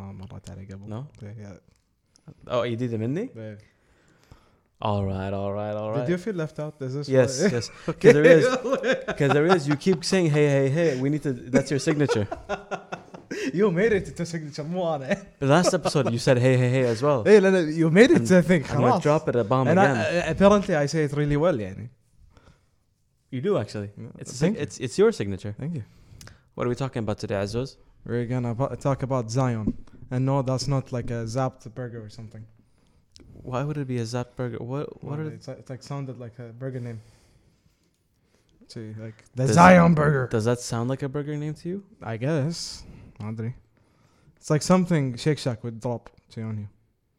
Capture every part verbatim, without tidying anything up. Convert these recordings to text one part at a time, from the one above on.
ما مرت علي قبل. No. Yeah. Oh, you did it مني. Yeah. All right, all right, all right. Did you feel left out? Is this Yes, why? yes. Because there is, because there is. You keep saying hey, hey, hey. We need to. That's your signature. You made it to signature مو أنا. The last episode you said hey, hey, hey as well. إيه لأن you made it to think. I'm gonna خلاص. drop it a bomb And again. I, apparently I say it really well يعني. You do actually. It's a Thank sig- it's it's your signature. Thank you. What are we talking about today, Azuz? We're gonna bo- talk about Zion. And no, that's not like a Zapped burger or something. Why would it be a Zap burger? What what Well, are it's, like- it's like sounded like a burger name. See, like the Does- Zion burger. Does that sound like a burger name to you? I guess. ما أدري. It's like something Shake Shack would drop to on you.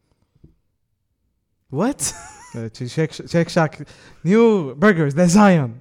What? Uh, to Shake Shake Shack new burgers, the Zion.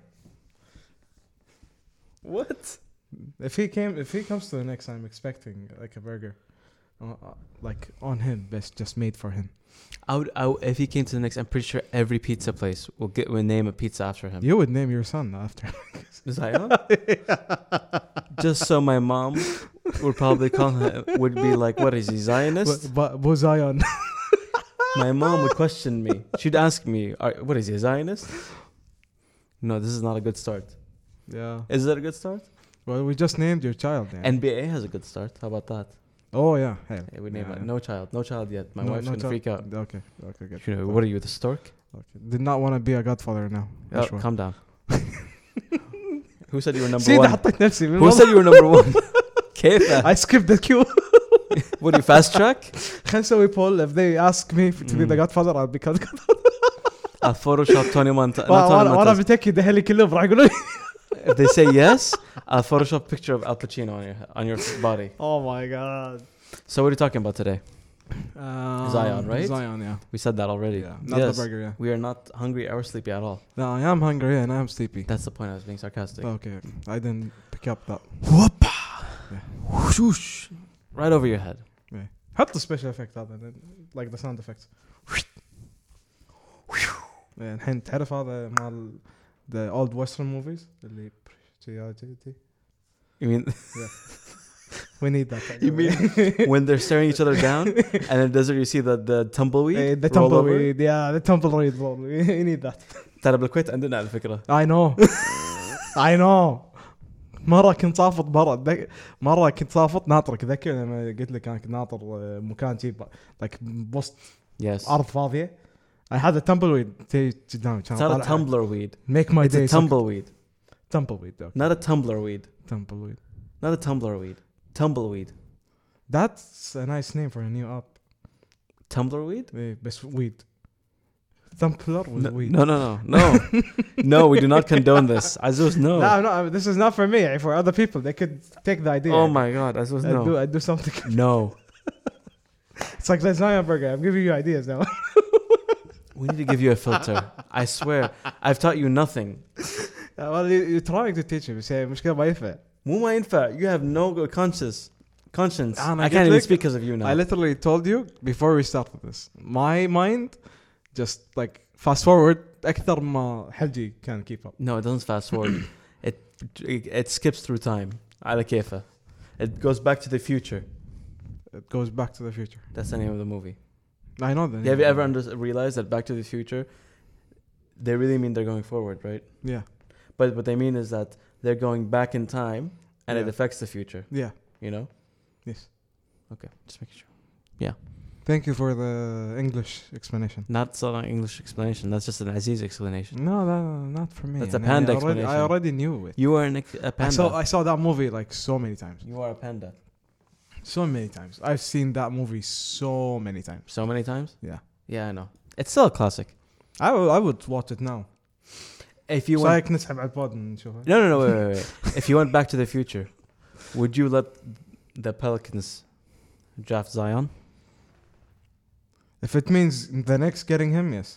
What? If he came, if he comes to the next, I'm expecting like a burger, uh, uh, like on him, best just made for him. I would, I would, if he came to the next, I'm pretty sure every pizza place will get will name a pizza after him. You would name your son after. Zion? Just so my mom would probably call him, would be like, what is he, Zionist? But Bo Zion. My mom would question me. She'd ask me, Are, what is he, a Zionist? No, this is not a good start. Yeah. Is that a good start? Well, we just named your child. Yeah. N B A has a good start. How about that? Oh yeah. Hey. Yeah, we name Yeah. it. No child. No child yet. My No- wife's no going to child. freak out. Okay. Okay. Good. You know, what are you, the stork? Okay. Did not want to be a godfather now. Oh, Sure. calm down. Who said you were number سيدي one? حطيت نفسي من Who والله. said you were number one? كيف؟ I skipped the queue. What do you fast track? خلنا نسوي poll. If they ask me to be the Mm. godfather, I'll become godfather. I'll Photoshop Tony Montana. وانا وانا بتأكد اهلي كلهم راح يقولون. If they say yes, I'll Photoshop a picture of Al Pacino on your on your body. Oh my god. So what are you talking about today? Um, Zion, right? Zion, yeah. We said that already. Yeah. Not Yes. the burger, yeah. We are not hungry or sleepy at all. No, I am hungry and I am sleepy. That's the point. I was being sarcastic. Okay, I didn't pick up that. Whoopa! Yeah. Whoosh! Right over your head. Yeah. حط special effect هذا like the sound effects. Yeah, الحين تعرف هذا مال the old western movies اللي You mean we need that. you mean when they're staring each other down and in the desert you see the the tumbleweed? Eh, the roll over? tumbleweed, yeah, the tumbleweed. We need that. ترى بالكويت عندنا على فكرة. I know. I know. مرة كنت صافط برا دك... مرة كنت صافط ناطرك ذكي لما قلت لك أنا كنت ناطر مكان جيب like بوسط Yes. أرض فاضية. I had a tumbleweed تي قدامي كان It's not a طالع. tumblerweed. Make my It's day. a tumbleweed. Tumbleweed. Okay. Not a tumblerweed. Tumbleweed. Not a tumblerweed. Tumbleweed. That's a nice name for a new app. Tumblerweed? Eh, بس weed. Tumbler with No, weed. no, no, no, no. No, we do not condone this. Azuz, no. No, no, this is not for me. For other people, they could take the idea. Oh my God, Azuz, I do, no. I do something. No. It's like the Zion burger. I'm giving you ideas now. We need to give you a filter. I swear. I've taught you nothing. Well, you, you're trying to teach me. بس هي مشكلة ما ينفع. مو ما ينفع. You have no conscious conscience. أنا I قلت can't even لك- speak because of you now. I literally told you before we started this. My mind just like fast forward أكثر ما حلجي can keep up. No, it doesn't fast forward. it, it it skips through time. على كيفه. It goes back to the future. It goes back to the future. That's the name of the movie. I know that. Have you ever under- realized that Back to the Future, they really mean they're going forward, right? Yeah. But what they mean is that they're going back in time and it Yeah. affects the future, Yeah. you know? Yes. Okay, just making sure. Thank you for the English explanation. Not so long English explanation. That's just an Aziz explanation. No, no, no, not for me. That's a And panda I already, I explanation. already knew it. You are an, ex- a I panda. saw I saw that movie like so many times. you are a panda. So many times. I've seen that movie so many times. So many times? Yeah. Yeah, I know. It's still a classic. I would I would watch it now. If you went... سايك نسحب على البود نشوفه. No, no, no, wait, wait, wait. If you went back to the future, would you let the Pelicans draft Zion? If it means the Knicks getting him, yes.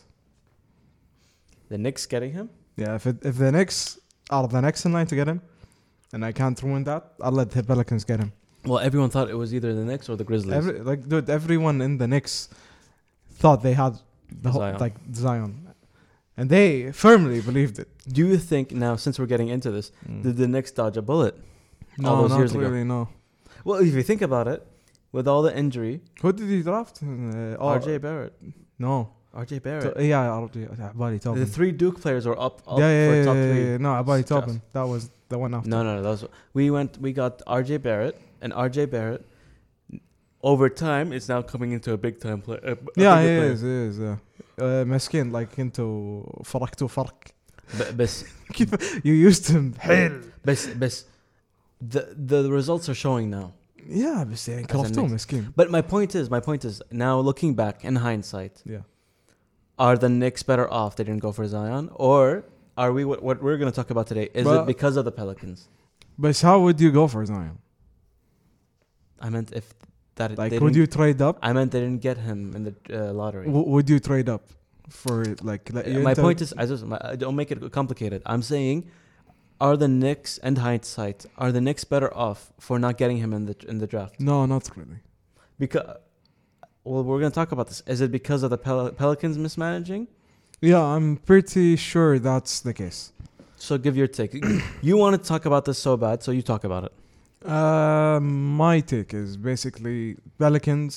The Knicks getting him? Yeah, if it, if the Knicks are the next in line to get him, and I can't ruin that, I'll let the Pelicans get him. Well, everyone thought it was either the Knicks or the Grizzlies. Every, like, dude, everyone in the Knicks thought they had the whole, Zion. like Zion, and they firmly believed it. Do you think now, since we're getting into this, Mm. did the Knicks dodge a bullet? no, all those not years ago? really, no. Well, if you think about it, with all the injury. Who did he draft? Uh, oh, R J Barrett. No. R J To, Barrett. yeah, R J. عبالي The Tobin. three Duke players were up, up Yeah, yeah, for yeah, top yeah, three. yeah. No, عبالي Stress. Tobin. That was the one after. No, no, no. That was we went. We got R J Barrett, and R J Barrett. Over time, it's now coming into a big time play. Uh, Yeah, he is, he is. Yeah. Uh, مسكين like انتو فرقتوا فرق. بس You used him حيل. بس بس the the results are showing now. Yeah, بس يعني As a كرفتوه Knicks. مسكين. But my point is, my point is now looking back in hindsight, Yeah. are the Knicks better off they didn't go for Zion, or are we what, what we're going to talk about today? Is But- it because of the Pelicans? But how would you go for Zion? I meant if that Like, they would didn't- you trade up? I meant they didn't get him in the uh, lottery. W- would you trade up for like? like Uh, my point is, I just my, I don't make it complicated. I'm saying, are the Knicks, and hindsight, are the Knicks better off for not getting him in the in the draft? no, not really. Because, well, we're gonna talk about this. Is it because of the Pel- Pelicans mismanaging? Yeah, I'm pretty sure that's the case. So give your take. You want to talk about this so bad, so you talk about it. Uh, my take is basically Pelicans.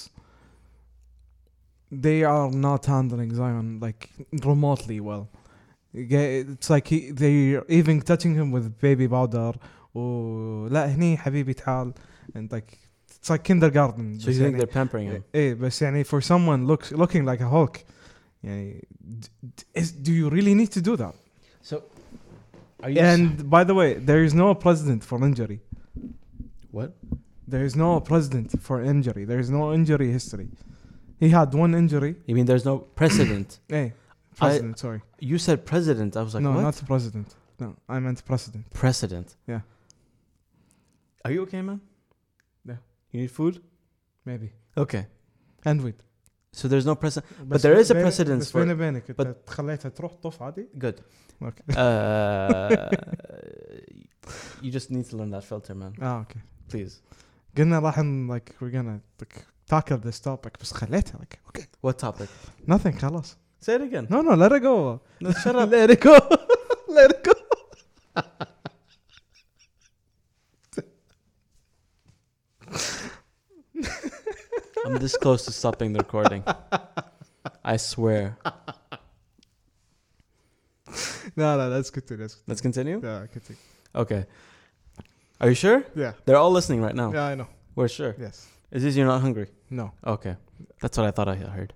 They are not handling Zion like remotely well. It's like he, they're even touching him with baby powder. Oh, لا هني حبيبي تعال, and like it's like kindergarten. So you think they're pampering him? إيه بس يعني for someone looks looking like a Hulk, يعني d- d- is, do you really need to do that? So, are you? And by the way, there is no president for injury. What? There is no president for injury. There is no injury history. He had one injury. You mean there's no precedent? Hey, president, sorry. You said president. I was like, no, what? not president. No, I meant precedent. Precedent. Yeah. Are you okay, man? Yeah. You need food? Maybe. Okay. And wait. So there's no precedent. But there is a precedence بس for- بيني وبينك but- انت خليتها تروح طف عادي. Good. Okay. Uh, you just need to learn that filter, man. Ah, okay. Please. قلنا راح ن- like we're gonna like tackle this topic بس خليتها like okay. What topic? Nothing خلاص. Say it again. No, no, let it go. No, shut up. Let it go. Let it go. I'm this close to stopping the recording. I swear. No, no, that's good too. That's good. Let's continue? Yeah, continue. Okay. Are you sure? Yeah. They're all listening right now. Yeah, I know. We're sure. Yes. Is this you're not hungry? No. Okay. That's what I thought I heard.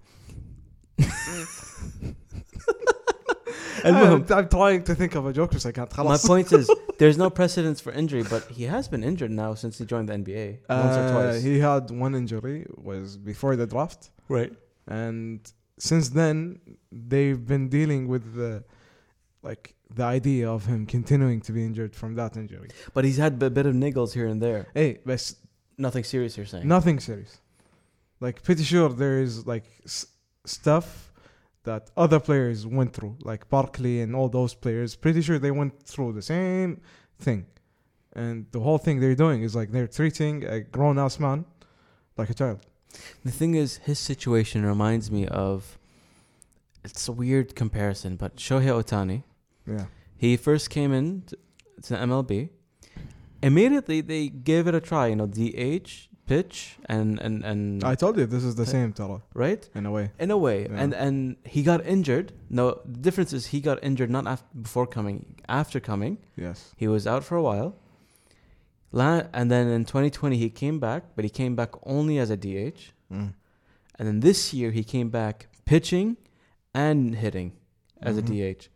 I'm, I'm trying to think of a joke, but I can't. My خلاص. point is, there's no precedence for injury, but he has been injured now since he joined the N B A once or Uh, twice. he had one injury, was before the draft, Right. and since then they've been dealing with the, like the idea of him continuing to be injured from that injury. But he's had a bit of niggles here and there. Hey, but Nothing serious, you're saying? nothing serious. Like pretty sure there is like s- stuff that other players went through, like Barkley and all those players. Pretty sure they went through the same thing, and the whole thing they're doing is like they're treating a grown-ass man like a child. The thing is, his situation reminds me of... It's a weird comparison, but Shohei Ohtani. Yeah. He first came in to, to M L B. Immediately, they gave it a try. You know, D H, pitch, and... and, and I told you this is the same, Tara, right? in a way. In a way. Yeah. And and he got injured. No, the difference is he got injured not after, before coming. After coming. Yes. He was out for a while. La- and then in twenty twenty, he came back, but he came back only as a D H. Mm. And then this year, he came back pitching and hitting as Mhm. a D H.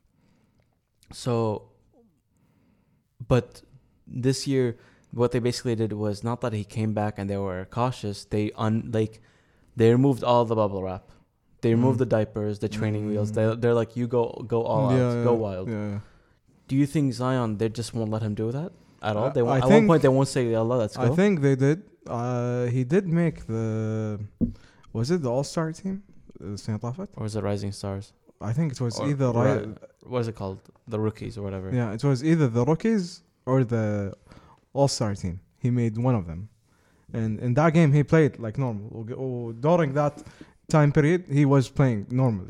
So, but this year, what they basically did was not that he came back and they were cautious. They un like they removed all the bubble wrap. They removed Mm. the diapers, the training wheels. Mm. They they're like, you go go all Yeah, out, yeah, go wild. Yeah. yeah. Do you think Zion, they just won't let him do that at all? Uh, They won't, I at one think- point they won't say, Allah, let's go. I think they did. Uh, he did make the. Was it the All Star team? السنة طافت? Or is it Rising Stars? I think it was Or- either right. right. What is it called? The rookies or whatever. Yeah, it was either the rookies or the All Star team. He made one of them, and in that game he played like normal. Oh, during that time period, he was playing normally.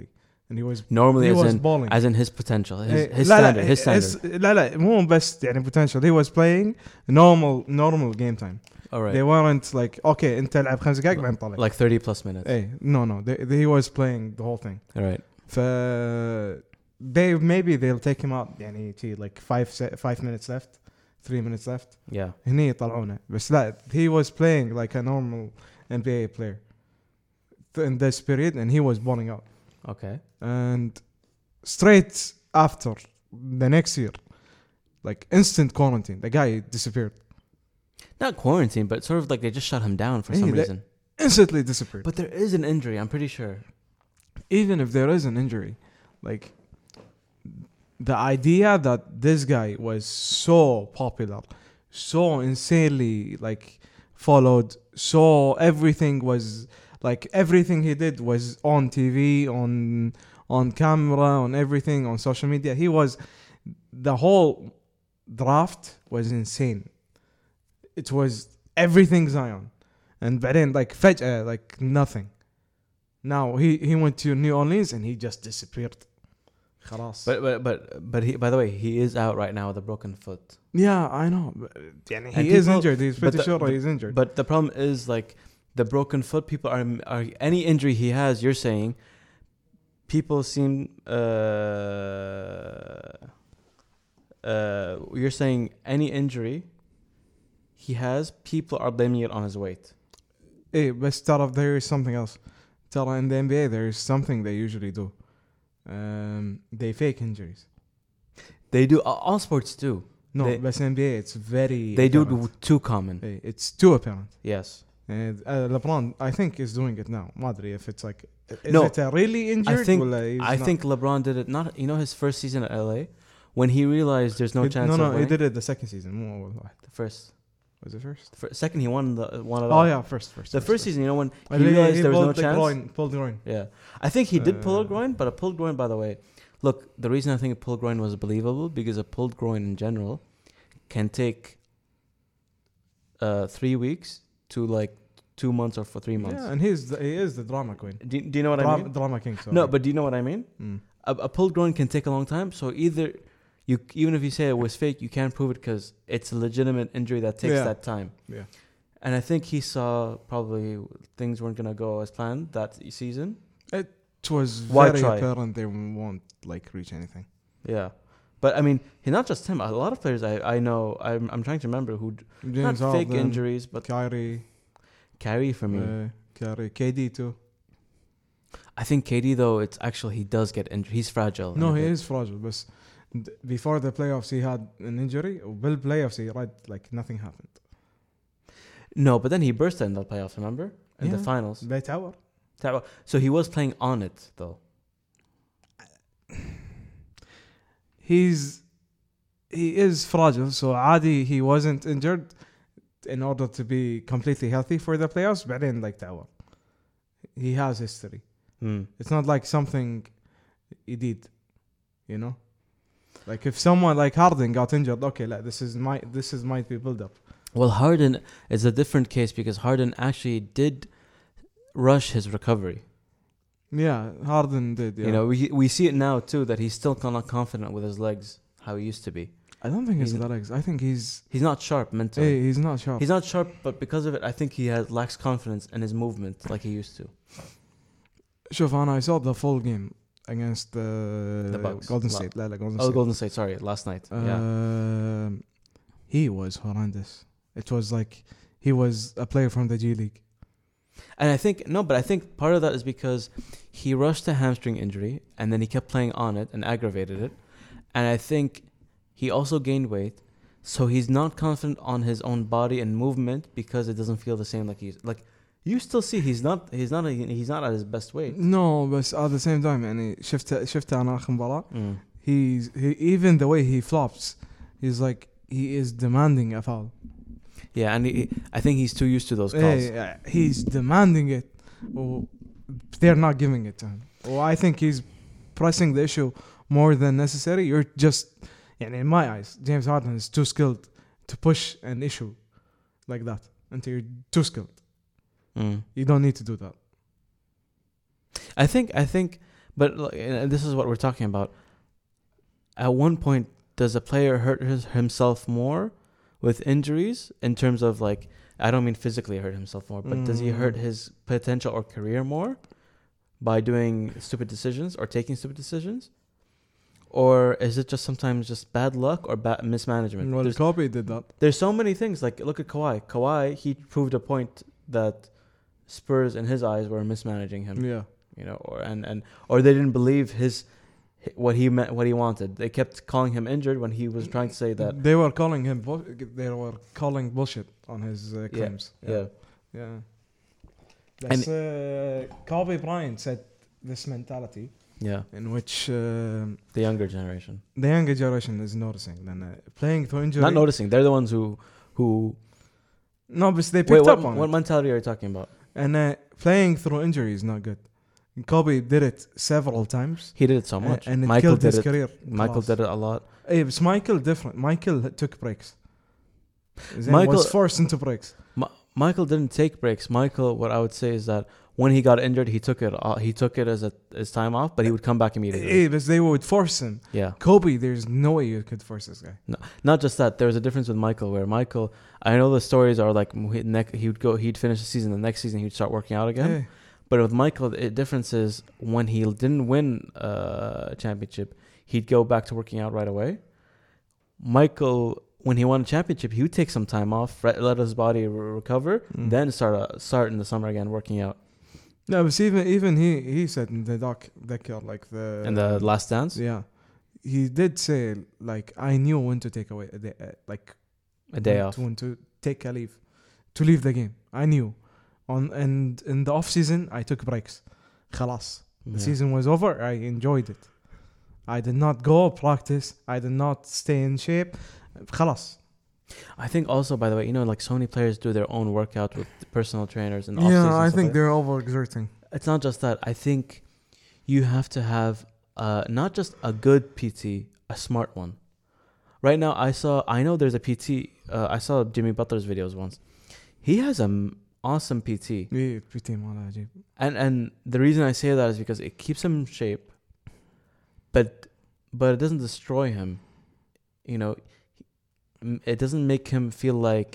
and he was Normally, he as was in balling. as in his potential, his, إيه، his لا standard, لا his standard. his- لا لا مو بس يعني potential. He was playing normal normal game time. All right, They weren't like okay أنت لعب خمس دقائق بعدين طلع. like thirty plus minutes. إيه no no they, they, he was playing the whole thing. All right. ف they maybe they'll take him out يعني شي like five se- five minutes left, three minutes left. Yeah. هني يطلعونه بس لا he was playing like a normal N B A player in this period and he was balling out. Okay. And straight after the next year, like instant quarantine, the guy disappeared. Not quarantine, but sort of like they just shut him down for Hey, some that- reason. Instantly disappeared. But there is an injury, I'm pretty sure. Even if there is an injury, like the idea that this guy was so popular, so insanely like followed, so everything was like everything he did was on T V, on on camera, on everything, on social media. He was the whole draft was insane. It was everything Zion, and بعدين like فجأة like nothing. Now he he went to New Orleans and he just disappeared. خلاص. But but but but he, by the way, he is out right now with a broken foot. Yeah, I know. But, يعني he And is people- injured. He's pretty but the- sure but- he's injured. But the problem is like the broken foot. People are are any injury he has. You're saying people seem uh uh you're saying any injury he has, people are blaming it on his weight. Hey, but ترى there is something else. ترى in the N B A there is something they usually do. Um, they fake injuries. They do all all sports do. No, They- but in N B A it's very. They do apparent. do too common. Hey, it's too apparent. Yes. And uh, LeBron, I think, is doing it now. ما أدري if it's like. Is No, it a really injured? I think ولا he's I not? think LeBron did it. Not you know his first season at L A when he realized there's no He- chance. No, of no, he winning. did it the second season. مو أول واحد. The first. Was it first? The fir- second he won the won it Oh all. yeah, first, first. The first season, you know when Uh, he realized there was no pulled the chance. Groin, pulled the groin. Yeah, I think he did pull a Uh, groin, but a pulled groin, by the way, look, the reason I think a pulled groin was believable because a pulled groin in general can take uh three weeks to like two months or for three months. Yeah, and he's the, he is the drama queen. Do, do you know what I Drama, mean? drama king. Sorry. No, but do you know what I mean? Mm. A, a pulled groin can take a long time, so either you even if you say it was fake, you can't prove it because it's a legitimate injury that takes Yeah. that time. Yeah. And I think he saw probably things weren't gonna go as planned that season. It was Why very try? apparent they won't like reach anything. Yeah, but I mean, he not just him. A lot of players I I know. I'm I'm trying to remember who d- James not fake Harden, injuries, but Kyrie, Kyrie for me. uh, Kyrie, K D too. I think K D though, it's actually he does get injured. He's fragile. No, in a he bit. is fragile. But d- before the playoffs, he had an injury. Bill playoffs, he right like nothing happened. No, but then he burst in the playoffs. Remember in the Yeah. finals. They tower. So he was playing on it though. He's he is fragile. So عادي he wasn't injured in order to be completely healthy for the playoffs. But then like tower, he has history. Hmm. It's not like something he did, you know. Like if someone like Harden got injured, okay, like this is my this is might be build up. Well, Harden is a different case because Harden actually did rush his recovery. Yeah, Harden did. Yeah. You know, we we see it now too that he's still not confident with his legs how he used to be. I don't think it's he's- the legs. I think he's He's not sharp mentally. hey, he's not sharp. He's not sharp, but because of it, I think he has lacks confidence in his movement like he used to. شوف أنا I saw the full game against the, The Bucks. Golden La- State. لا لا Golden Oh, State. Golden State. Sorry, last night. yeah. Um, he was horrendous. It was like he was a player from the G League. And I think no, but I think part of that is because he rushed a hamstring injury and then he kept playing on it and aggravated it. And I think he also gained weight, so he's not confident on his own body and movement because it doesn't feel the same like he's like. You still see he's not he's not a, he's not at his best weight. No, but at the same time يعني شفت شفت أنا آخر مباراة. Mm. He's he, even the way he flops, he's like he is demanding a foul. Yeah, and he, I think he's too used to those calls. Hey, uh, he's demanding it. Or they're not giving it to him. Or I think he's pressing the issue more than necessary. You're just, and in my eyes, James Harden is too skilled to push an issue like that until you're too skilled. Mm. You don't need to do that. I think I think, But like, and this is what we're talking about. At one point, does a player hurt his, himself more with injuries in terms of like, I don't mean physically hurt himself more, but mm. does he hurt his potential or career more by doing stupid decisions or taking stupid decisions? Or is it just sometimes just bad luck or bad mismanagement? Well, Kobe did that. There's so many things. Like, look at Kawhi. Kawhi, he proved a point that Spurs, in his eyes, were mismanaging him. Yeah. You know, or and, and or they didn't believe his what he meant, what he wanted. They kept calling him injured when he was trying to say that. They were calling him. Bu- they were calling bullshit on his uh, claims. Yeah. Yeah. yeah. That's, uh, Kobe Bryant said this mentality. Yeah. In which uh, the younger generation, the younger generation is noticing. Then uh, playing through injury. Not noticing. They're the ones who who. No, but they picked Wait, up what, on what it. What mentality are you talking about? And uh, playing through injury is not good. Kobe did it several times. He did it so much. Uh, and it Michael killed did his it. career. Michael class. did it a lot. Hey, it's Michael different. Michael took breaks. Then Michael was forced into breaks. Ma- Michael didn't take breaks. Michael, what I would say is that when he got injured, he took it. Uh, he took it as a as time off, but he would come back immediately. Hey, but they would force him. Yeah. Kobe, there's no way you could force this guy. No, not just that. There was a difference with Michael, where Michael, I know the stories are like he, ne- he would go, he'd finish the season. The next season, he'd start working out again. Hey. But with Michael, the difference is when he didn't win uh, a championship, he'd go back to working out right away. Michael, when he won a championship, he would take some time off, re- let his body re- recover, Mm. then start uh, start in the summer again working out. No, but even even he he said in the doc doc like the In the Last Dance, yeah, he did say like I knew when to take away a day, uh, like a day when off. to, when to take a leave, to leave the game. I knew, on and in the off season I took breaks. خلاص. The Yeah. season was over. I enjoyed it. I did not go practice. I did not stay in shape. خلاص. I think also, by the way, you know, like so many players do their own workout with personal trainers and off season. Yeah, I think like they're overexerting. it's not just that. I think you have to have uh, not just a good P T, a smart one. Right now, I saw. I know there's a P T. Uh, I saw Jimmy Butler's videos once. He has an awesome P T, Yeah, pretty ماله عجيب. and and the reason I say that is because it keeps him in shape, but but it doesn't destroy him. You know, it doesn't make him feel like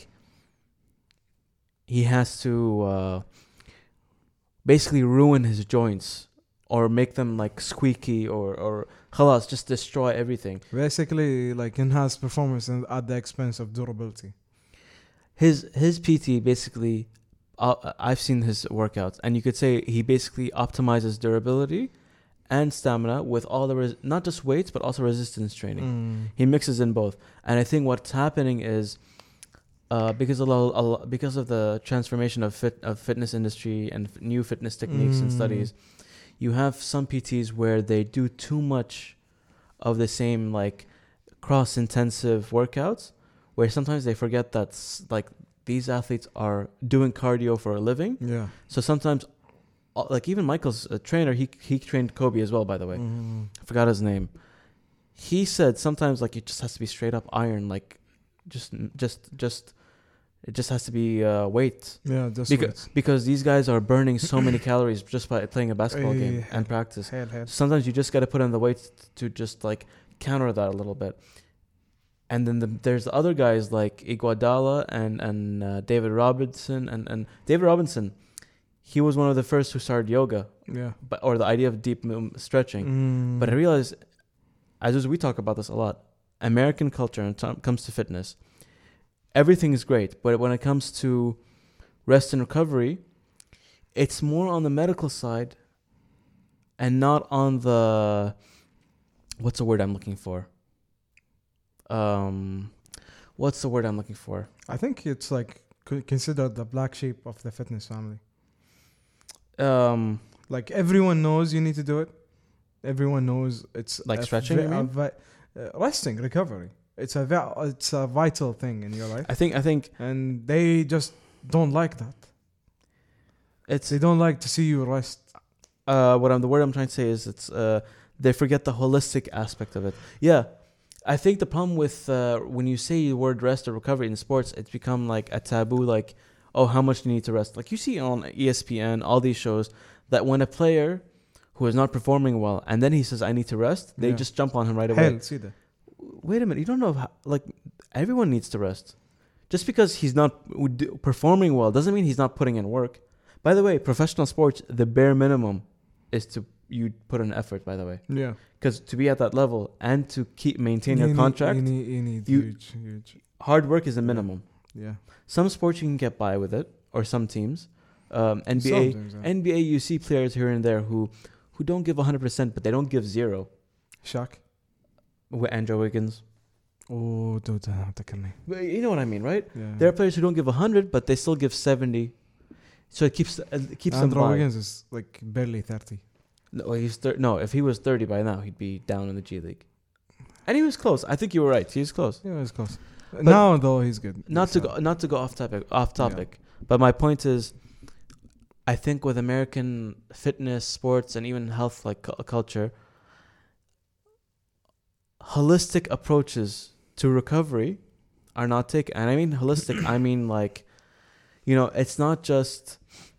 he has to uh, basically ruin his joints or make them like squeaky or or خلاص, just destroy everything. Basically, like enhance performance and at the expense of durability. His his P T basically, uh, I've seen his workouts, and you could say he basically optimizes durability and stamina with all the res- not just weights but also resistance training. Mm. He mixes in both, and I think what's happening is uh, because of lo- a lo- because of the transformation of fit of fitness industry and f- new fitness techniques and Mm. studies, you have some P Ts where they do too much of the same like cross intensive workouts, where sometimes they forget that s- like these athletes are doing cardio for a living. Yeah. So sometimes, uh, like even Michael's uh, trainer, he he trained Kobe as well. By the way, Mm. I forgot his name. He said sometimes like it just has to be straight up iron, like just just just it just has to be uh, weight. Yeah, just Because because these guys are burning so many calories just by playing a basketball game Eh, and practice. hell, hell. Sometimes you just got to put in the weights to just like counter that a little bit. And then the, there's other guys like Iguodala and and uh, David Robinson and and David Robinson. He was one of the first who started yoga, Yeah. but or the idea of deep mo- stretching. Mm. But I realized, as we talk about this a lot, American culture when it comes to fitness, everything is great, but when it comes to rest and recovery, it's more on the medical side and not on the, what's the word I'm looking for? Um, what's the word I'm looking for? I think it's like c- considered the black sheep of the fitness family. Um, Like everyone knows you need to do it. Everyone knows it's Like a stretching, vi- you a mean? vi- uh, resting, recovery. It's a vi- it's a vital thing in your life, I think I think and they just don't like that. it's They don't like to see you rest. uh what I'm the word I'm trying to say is it's uh they forget the holistic aspect of it. Yeah. I think the problem with uh when you say the word rest or recovery in sports, it's become like a taboo, like, oh, how much do you need to rest? Like you see on E S P N, all these shows, that when a player who is not performing well, and then he says, I need to rest, they Yeah. just jump on him right away. Hell, see that. Wait a minute, you don't know how, like, everyone needs to rest. Just because he's not w- performing well doesn't mean he's not putting in work. By the way, professional sports, the bare minimum is to you put in effort, by the way. Yeah. Because to be at that level and to keep maintain your You need- contract, You need, you need you- huge, huge. hard work is the minimum. Yeah. Some sports you can get by with it, or some teams. Um, N B A, Sometimes, yeah. N B A, you see players here and there who, who don't give one hundred percent, but they don't give zero. Shaq. With Andrew Wiggins. Oh, dude, uh, تكلمني. But you know what I mean, right? Yeah. There are players who don't give one hundred, but they still give seventy. So it keeps it keeps them Andrew by. Wiggins is like barely thirty. No, he's thir- no, if he was thirty by now, he'd be down in the G League. And he was close. I think you were right. He was close. Yeah, it's close. Now though, he's good. Not He's to uh, go, not to go off topic, off topic. But my point is, I think with American fitness, sports, and even health like cu- culture, holistic approaches to recovery are not taken. And I mean holistic. I mean like, you know, it's not just.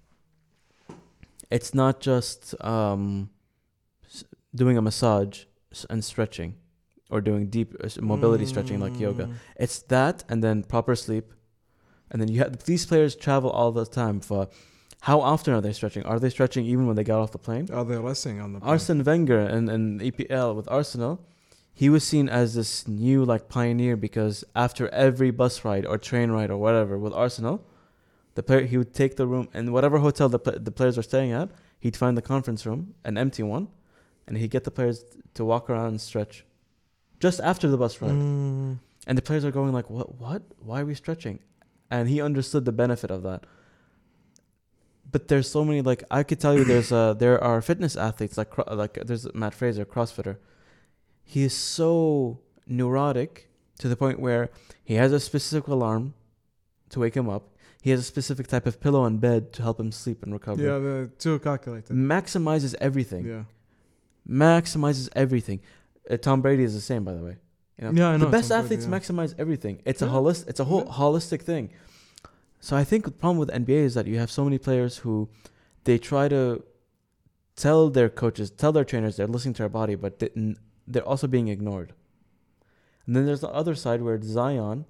It's not just um, s- doing a massage s- and stretching, or doing deep uh, s- mobility stretching like yoga. Mm. It's that, and then proper sleep, and then you have these players travel all the time. For how often are they stretching? Are they stretching even when they got off the plane? Are they resting on the plane? Arsene Wenger and and E P L with Arsenal, he was seen as this new like pioneer because after every bus ride or train ride or whatever with Arsenal, the player he would take the room and whatever hotel the pl- the players are staying at, he'd find the conference room, an empty one, and he'd get the players to walk around and stretch, just after the bus ride. Mm. And the players are going like, what, what? Why are we stretching? And he understood the benefit of that. But there's so many, like, I could tell you there's uh there are fitness athletes, like, cro- like there's Matt Fraser, CrossFitter. He is so neurotic to the point where he has a specific alarm to wake him up. He has a specific type of pillow in bed to help him sleep and recover. Yeah, the too calculated. Maximizes everything. Yeah. Maximizes everything. Uh, Tom Brady is the same, by the way. You know? Yeah, I know. The best Tom Brady, athletes yeah. maximize everything. It's a Yeah. holist. It's a whole Yeah. holistic thing. So I think the problem with N B A is that you have so many players who they try to tell their coaches, tell their trainers they're listening to their body, but they, n- they're also being ignored. And then there's the other side where Zion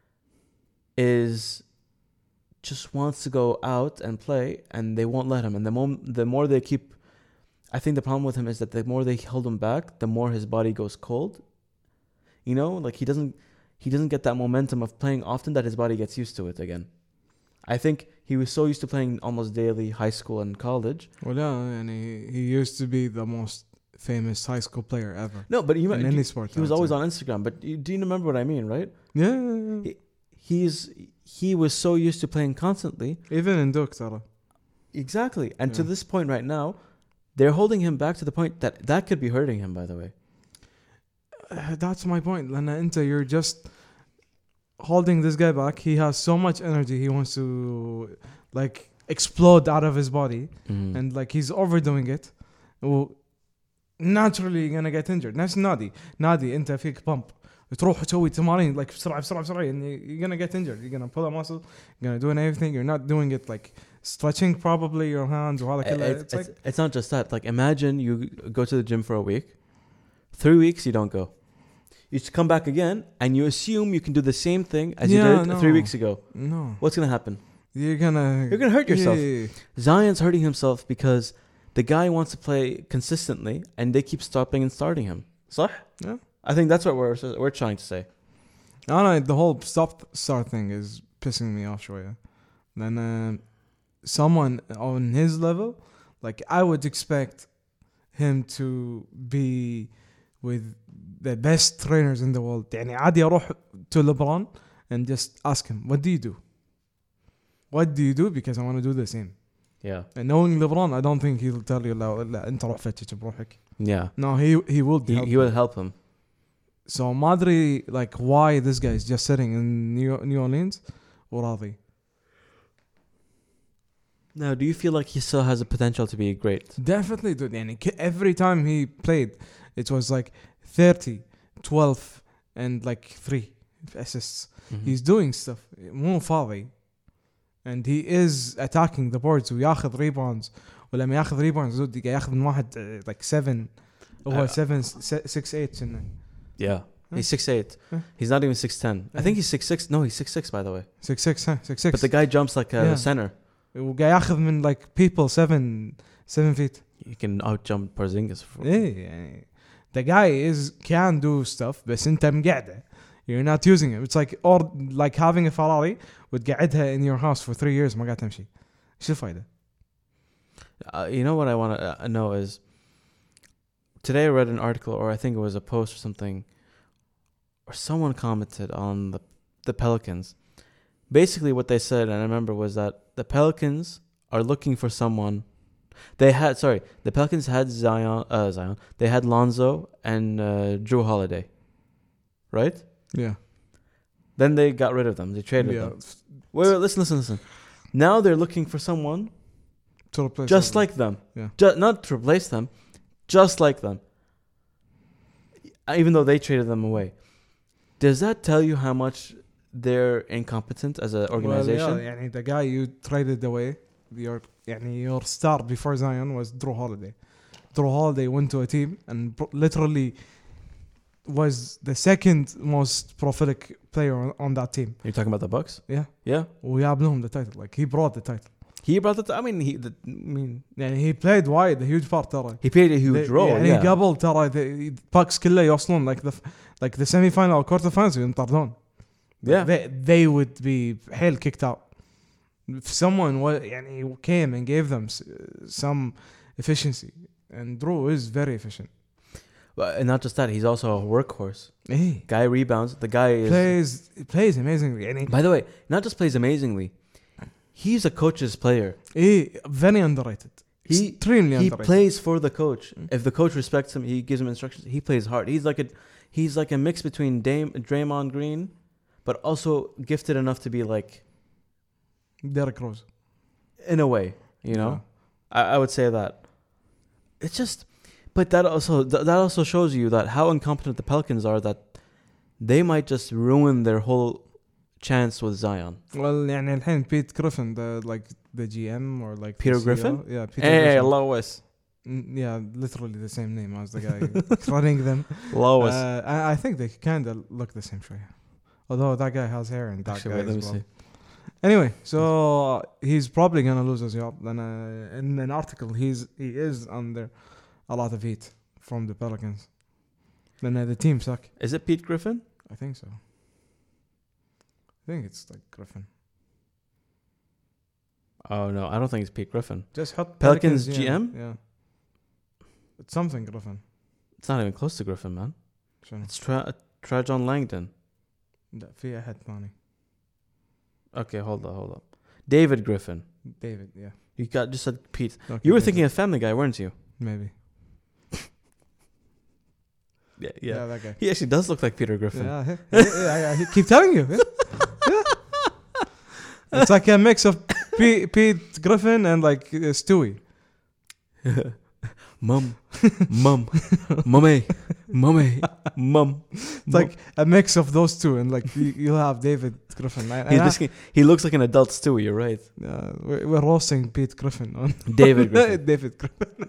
is just wants to go out and play, and they won't let him. And the mom- the more they keep, I think the problem with him is that the more they hold him back, the more his body goes cold. You know, like he doesn't he doesn't get that momentum of playing often that his body gets used to it again. I think he was so used to playing almost daily, high school and college. Well, yeah, and he, he used to be the most famous high school player ever. No, but he, In any sport, he I was would always say. on Instagram. But you, do you remember what I mean, right? Yeah, yeah, yeah. He's he was so used to playing constantly. Even in Duke, Tara. Exactly. And to Yeah. this point right now, they're holding him back to the point that that could be hurting him, by the way. Uh, that's my point. Lana Inta, you're just holding this guy back. He has so much energy. He wants to like explode out of his body, Mm. and like he's overdoing it. Well, naturally you're gonna get injured. نفس نادي نادي انت فيك pump تروح تسوي تمارين like بسرعة بسرعة بسرعة and you're gonna get injured. You're gonna pull a muscle. You're gonna do anything. You're not doing it like stretching probably your hands وهذا كله. It's, It's it's, like it's not just that. Like, imagine you go to the gym for a week, three weeks you don't go. You just come back again, and you assume you can do the same thing as Yeah, you did no. three weeks ago. no. What's gonna happen? You're gonna You're gonna hurt yourself. Yeah. Zion's hurting himself because the guy wants to play consistently, and they keep stopping and starting him. صح? Yeah. I think that's what we're we're trying to say. No, no, the whole stop start thing is pissing me off شوية. Then um, someone on his level, like I would expect him to be with the best trainers in the world. يعني عادي أروح to LeBron and just ask him, what do you do? What do you do? Because I want to do the same. Yeah. And knowing LeBron, I don't think he'll tell you لا لا أنت روح فتش بروحك. Yeah. No, he he will. He, help he you. will help him. So Madri, like, why this guy is just sitting in New, New Orleans, وراضي. Now, do you feel like he still has the potential to be great? Definitely, dude. يعني k- every time he played, it was like thirty, twelve, and like three assists. Mhm. He's doing stuff. مو فاضي. And he is attacking the boards وياخذ rebounds ولما ياخذ ريباوند زود قاعد ياخذ من واحد uh, like seven هو Uh, seven six eight سنة. Yeah, he's six eight. Huh? He's not even six ten. I Yeah. think he's six six. No, he's six six by the way. six six huh six six But the guy jumps like a Yeah. center. وقاعد ياخذ من like people seven seven feet. He can out jump Porzingis. For ايه يعني the guy is can do stuff بس انت مقعده. You're not using it. It's like or like having a Ferrari وتقعدها in your house for three years ما قاعد تمشي. ايش الفائدة؟ Uh, you know what I want to uh, know is today I read an article, or I think it was a post or something, or someone commented on the the Pelicans. Basically, what they said, and I remember, was that the Pelicans are looking for someone. They had sorry, the Pelicans had Zion, uh, Zion. They had Lonzo and uh, Drew Holiday, right? Yeah. Then they got rid of them. They traded Yeah. them. Wait, wait, listen, listen, listen. Now they're looking for someone To replace just them. like them. Yeah. Ju- not to replace them, just like them. Even though they traded them away. Does that tell you how much they're incompetent as an organization? Well, yeah, يعني the guy you traded away, your يعني your star before Zion was Drew Holiday. Drew Holiday went to a team and pro- literally was the second most prolific player on, on that team. You're talking about the Bucks? Yeah. Yeah. وجاب لهم the title. Like he brought the title. He brought it. I mean, he. The, I mean, يعني he played wide a huge part ترى. he played a huge They- role. يعني Yeah. قبل ترى the Bucks كله يوصلون like the like the semi final or quarter finals ينطردون. Yeah. They they would be حيل kicked out. If someone was يعني came and gave them s- some efficiency, and Drew is very efficient. But, and not just that, he's also a workhorse. Hey, Guy rebounds. The guy is. plays plays amazingly. يعني By the way, not just plays amazingly. He's a coach's player. hey, very underrated. He Extremely he underrated. plays for the coach. Mm. If the coach respects him, he gives him instructions. He plays hard. He's like a he's like a mix between Dame Draymond Green, but also gifted enough to be like, Derrick Rose. in a way, you know. I, I would say that. It's just, but that also th- that also shows you that how incompetent the Pelicans are. That they might just ruin their whole chance with Zion. Well, يعني الحين Pete Griffin, the like the G M or like Peter the C E O. Griffin? Yeah, Peter Hey, Griffin. Lois. Mm, yeah, literally the same name as the guy running them. Lois. Uh, I, I think they kind of look the same شوية. Although that guy has hair and that Actually, guy wait, let as me well. see. Anyway, so he's probably gonna lose his job. Then uh, in an article, he's he is under a lot of heat from the Pelicans. Then uh, the team suck. Is it Pete Griffin? I think so. I think it's like Griffin. Oh no, I don't think it's Pete Griffin. Just hot Pelicans yeah, G M? Yeah, it's something Griffin. It's not even close to Griffin, man. شنو؟ It's Tra- Trajan Langdon. لا في أحد ثاني. Okay, hold on, hold on. David Griffin. David, yeah. You got just said Pete. Okay, You were David. thinking of Family Guy, weren't you? maybe. Yeah, Yeah, that guy. He actually does look like Peter Griffin. Yeah, yeah, yeah, yeah, I keep telling you. Yeah. Yeah. It's like a mix of P- Pete Griffin and like uh, Stewie. Mum, mum, mummy, mummy, mum. It's like a mix of those two, and like you, you'll have David Griffin. And He's I- basically, he looks like an adult Stewie. You're right. uh, we're, we're roasting Pete Griffin on David Griffin. David Griffin.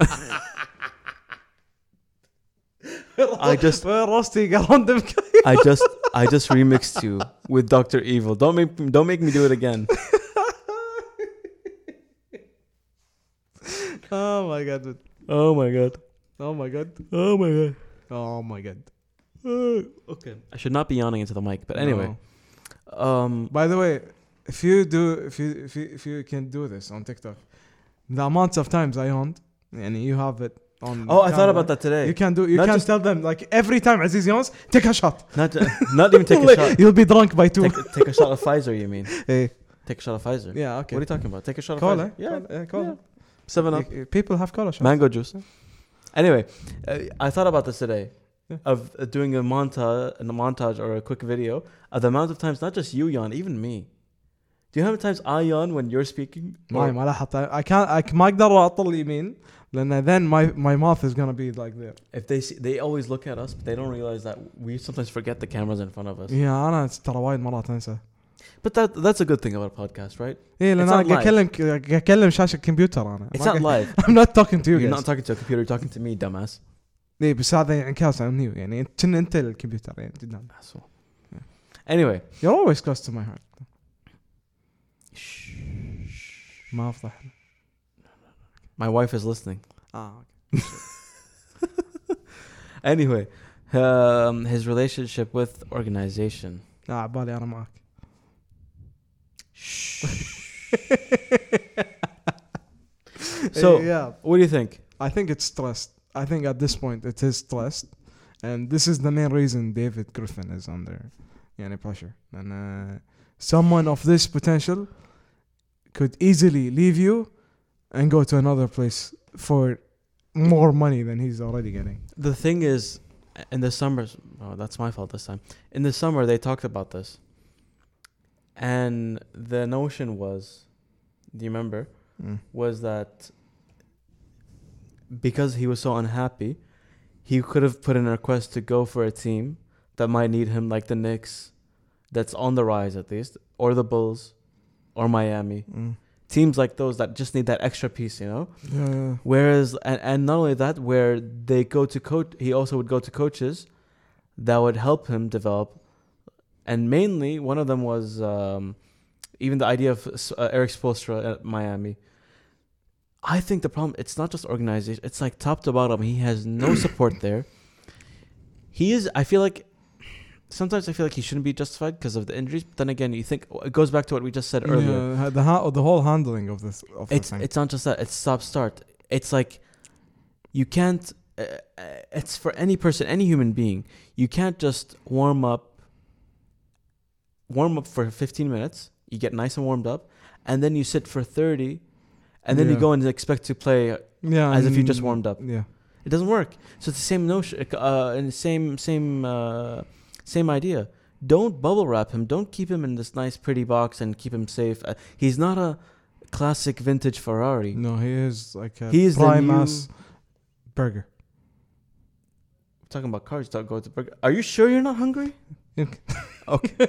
I just, we're roasting a random guy. I just, I just remixed you with Doctor Evil. Don't make, don't make me do it again. Oh my god! dude. Oh my god. Oh my god! Oh my god. Oh my god! Okay. I should not be yawning into the mic, but anyway. No. Um. By the way, if you do, if you if you if you can do this on TikTok, the amounts of times I yawned, and you have it on. Oh, I thought camera, about that today. You can do. You Not can just- tell them like every time Aziz yawns, take a shot. Not, not even take a shot. You'll be drunk by two. Take, take a shot of Pfizer. You mean? Hey. Take a shot of Pfizer. Yeah. Okay. What are you talking about? Take a shot of Cola. Pfizer. Yeah. Cola, yeah, cola. yeah. Seven up. Y- People have cola shots. Mango juice. Anyway, uh, I thought about this today, Yeah. of uh, doing a montage, a montage or a quick video of the amount of times, not just you yawn, even me. Do you know how many times I yawn when you're speaking? ما Or- ما لاحظت. I can't. I ما أقدر أطل يمين. لأن then my my mouth is gonna be like there. If they see, they always look at us, but they don't realize that we sometimes forget the cameras in front of us. Yeah, أنا ترى وايد مرات أنسى. But that that's a good thing about a podcast, right? إيه لأن It's أنا not قاعد أكلم قاعد أكلم شاشة كمبيوتر أنا. It's not live. I'm not talking to you You're guys. not talking to a computer. You're talking to me, dumbass. إيه بس هذا انعكاس عن نيو يعني أنت أنت الكمبيوتر يعني جدا. Asshole. Anyway. You're always close to my heart. ما أفضح. My wife is listening. آه. Anyway, um, his relationship with organization. آه عبالي أنا معك. So, yeah, what do you think? I think it's stressed. I think at this point it is stressed, and this is the main reason David Griffin is under يعني pressure. And uh, someone of this potential could easily leave you and go to another place for more money than he's already getting. The thing is, in the summers, oh, that's my fault this time. In the summer, they talked about this. And the notion was, do you remember, Mm. was that because he was so unhappy, he could have put in a request to go for a team that might need him, like the Knicks, that's on the rise at least, or the Bulls, or Miami. Mm. Teams like those that just need that extra piece, you know? Yeah, yeah. Whereas, and, and not only that, where they go to coach, he also would go to coaches that would help him develop. And mainly, one of them was um, even the idea of uh, Eric Spoelstra at Miami. I think the problem, it's not just organization. It's like top to bottom. He has no support there. He is, I feel like, sometimes I feel like he shouldn't be justified because of the injuries. But then again, you think, it goes back to what we just said earlier. Yeah, the ha- the whole handling of this. Of It's the thing. it's not just that. It's stop start. It's like you can't. Uh, uh, it's for any person, any human being. You can't just warm up. Warm up for fifteen minutes. You get nice and warmed up, and then you sit for thirty, and then you Yeah. go and expect to play yeah, as if you and- just warmed up. Yeah. It doesn't work. So it's the same notion, uh, and the same same uh, same idea. Don't bubble wrap him. Don't keep him in this nice, pretty box and keep him safe. Uh, he's not a classic vintage Ferrari. No, he is like a He is the prime new- ass burger. We're talking about cars. Talk go to burger. Are you sure you're not hungry? Okay.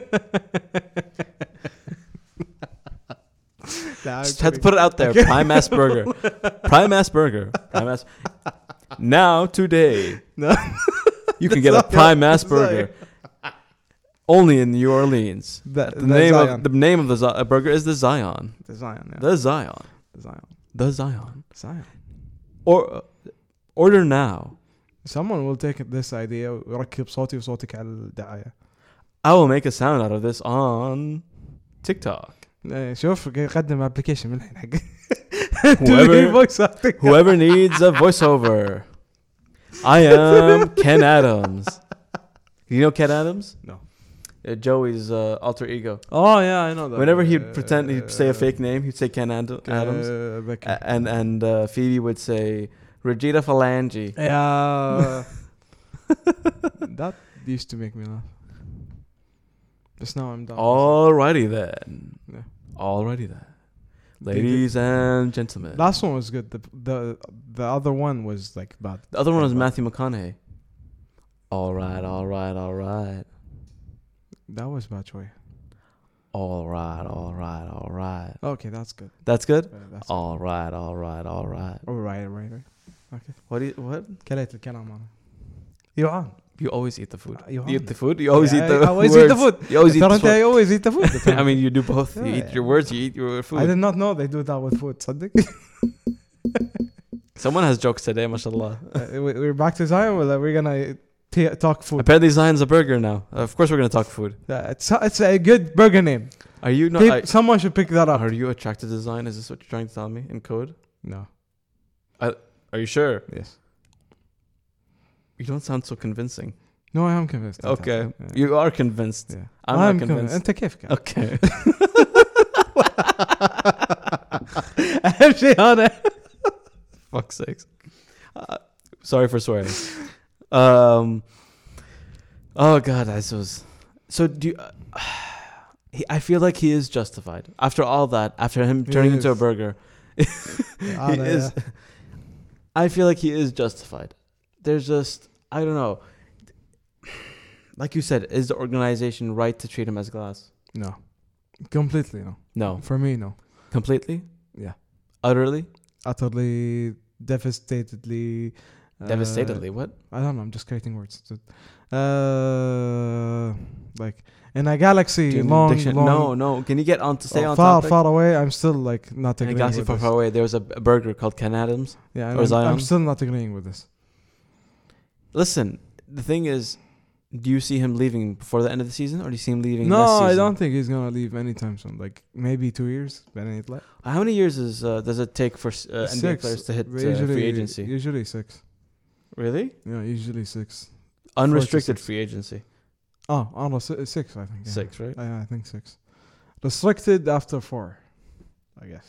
Just had to put it out there. Prime ass burger. Prime ass burger. Prime ass. Now today, No. you can get a prime ass burger. Only in New Orleans. The, The, name of the name of the Zi- uh, burger is the Zion. the Zion. Yeah. The Zion. The Zion. The Zion. Zion. Or uh, order now. Someone will take this idea ويركب صوتي وصوتك على الدعاية. I will make a sound out of this on TikTok. إيه، شوف يقدم ابلكيشن من الحين حق Whoever- Whoever needs a voiceover. I am Ken Adams. You know Ken Adams? No. Uh, Joey's uh, alter ego. Oh yeah, I know that. Whenever he'd pretend he'd say a fake name, he'd say Ken Ad- Adams. Uh, ذكي. A- and and uh, Phoebe would say Regina Phalange. Yeah. That used to make me laugh. Just now I'm done. Alrighty then. Yeah. Alrighty then. Ladies and gentlemen. Last one was good. The the the other one was like bad. The other one was Bad. Matthew McConaughey. Alright, alright, alright. That was bad choice. Alright, alright, alright. Okay, that's good. That's good? Uh, that's Alright, alright, alright. good. All right, right, right. Okay. What do you what? كليت الكلام أنا. يوعان. You always eat the food. You You eat the food? You always Yeah, eat the I always eat the words. food. You always eat ترى the أنت food. I always eat the food. I mean, you do both. You Yeah, eat yeah. your words, you eat your food. I did not know they do that with food. صدق. Someone has jokes today, mashallah. Uh, we- we're back to Zion. Well, we're gonna t- talk food. Apparently, Zion's a burger now. Of course, we're going to talk food. Yeah, it's it's a good burger name. Are you not? Peop- I- someone should pick that up. are you attracted to Zion? Is this what you're trying to tell me in code? No. Are you sure? Yes. You don't sound so convincing. No, I am convinced. Okay. Yeah. You are convinced. Yeah. I'm I'm not convinced. أنت كيف كان؟ Okay. أهم شيء أنا. Fuck's sakes. Uh, sorry for swearing. Um. Oh God, this was. So do you? Uh, he, I feel like he is justified after all that. After him He turning into a is. burger, he أنا, is. yeah. I feel like he is justified. There's just I don't know. Like you said, is the organization right to treat him as glass? No. Completely no. No. For me, no. Completely? Yeah. Utterly? Utterly, devastatedly. uh, Devastatedly. What? I don't know. I'm just creating words. Uh, like in a galaxy Do you need long, diction- long, No, no. Can you get on to stay uh, on far, topic? far away. I'm still like not In a agreeing galaxy with far, this. far away, there was a, a burger called Ken Adams. Yeah, and or I'm, Zion. I'm still not agreeing with this. Listen, the thing is, do you see him leaving before the end of the season, or do you see him leaving No, next season? I don't think he's gonna leave anytime soon. Like maybe two years. But it like How many years is uh, does it take for uh, N B A six. players to hit uh, Usually, free agency? Usually six. Really? Yeah, usually six. Unrestricted six. free agency. Oh, almost six. I think. Yeah. Six, right? Yeah, I think six. Restricted after four, I guess.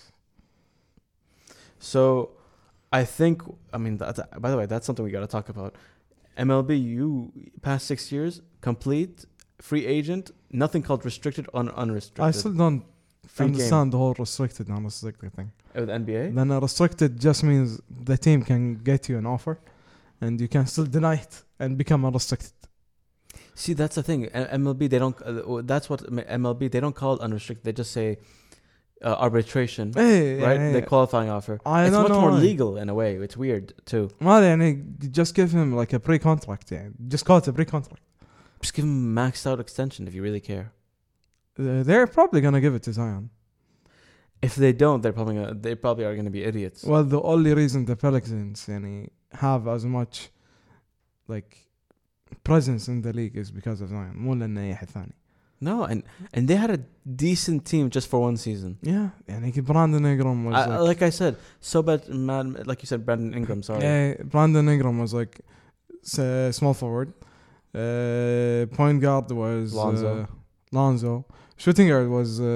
So, I think. I mean, that, by the way, that's something we got to talk about. M L B, you past six years, complete free agent, nothing called restricted or unrestricted. I still don't Free understand the whole restricted and unrestricted thing. with N B A. Then a restricted just means the team can get you an offer, and you can still deny it and become unrestricted. See, that's the thing. A- M L B, they don't. Uh, that's what M L B. They don't call it unrestricted. They just say uh, arbitration, Hey, right? يعني- The qualifying offer. I It's don't much know more why. legal in a way. It's weird too. ما يعني just give him like a pre-contract يعني. Just call it a pre-contract. Just give him a maxed out extension if you really care. Uh, they're probably gonna give it to Zion. If they don't, they're probably gonna, they probably are going to be idiots. Well, the only reason the Pelicans يعني have as much like presence in the league is because of Zion. مو لأن أي أحد ثاني. No, and and they had a decent team just for one season. Yeah, يعني Brandon Ingram was I, like, like I said, so bad, man. Like you said, Brandon Ingram. Sorry. yeah, Brandon Ingram was like s- small forward. Uh, point guard was Lonzo. Uh, Lonzo. Shooting guard was uh,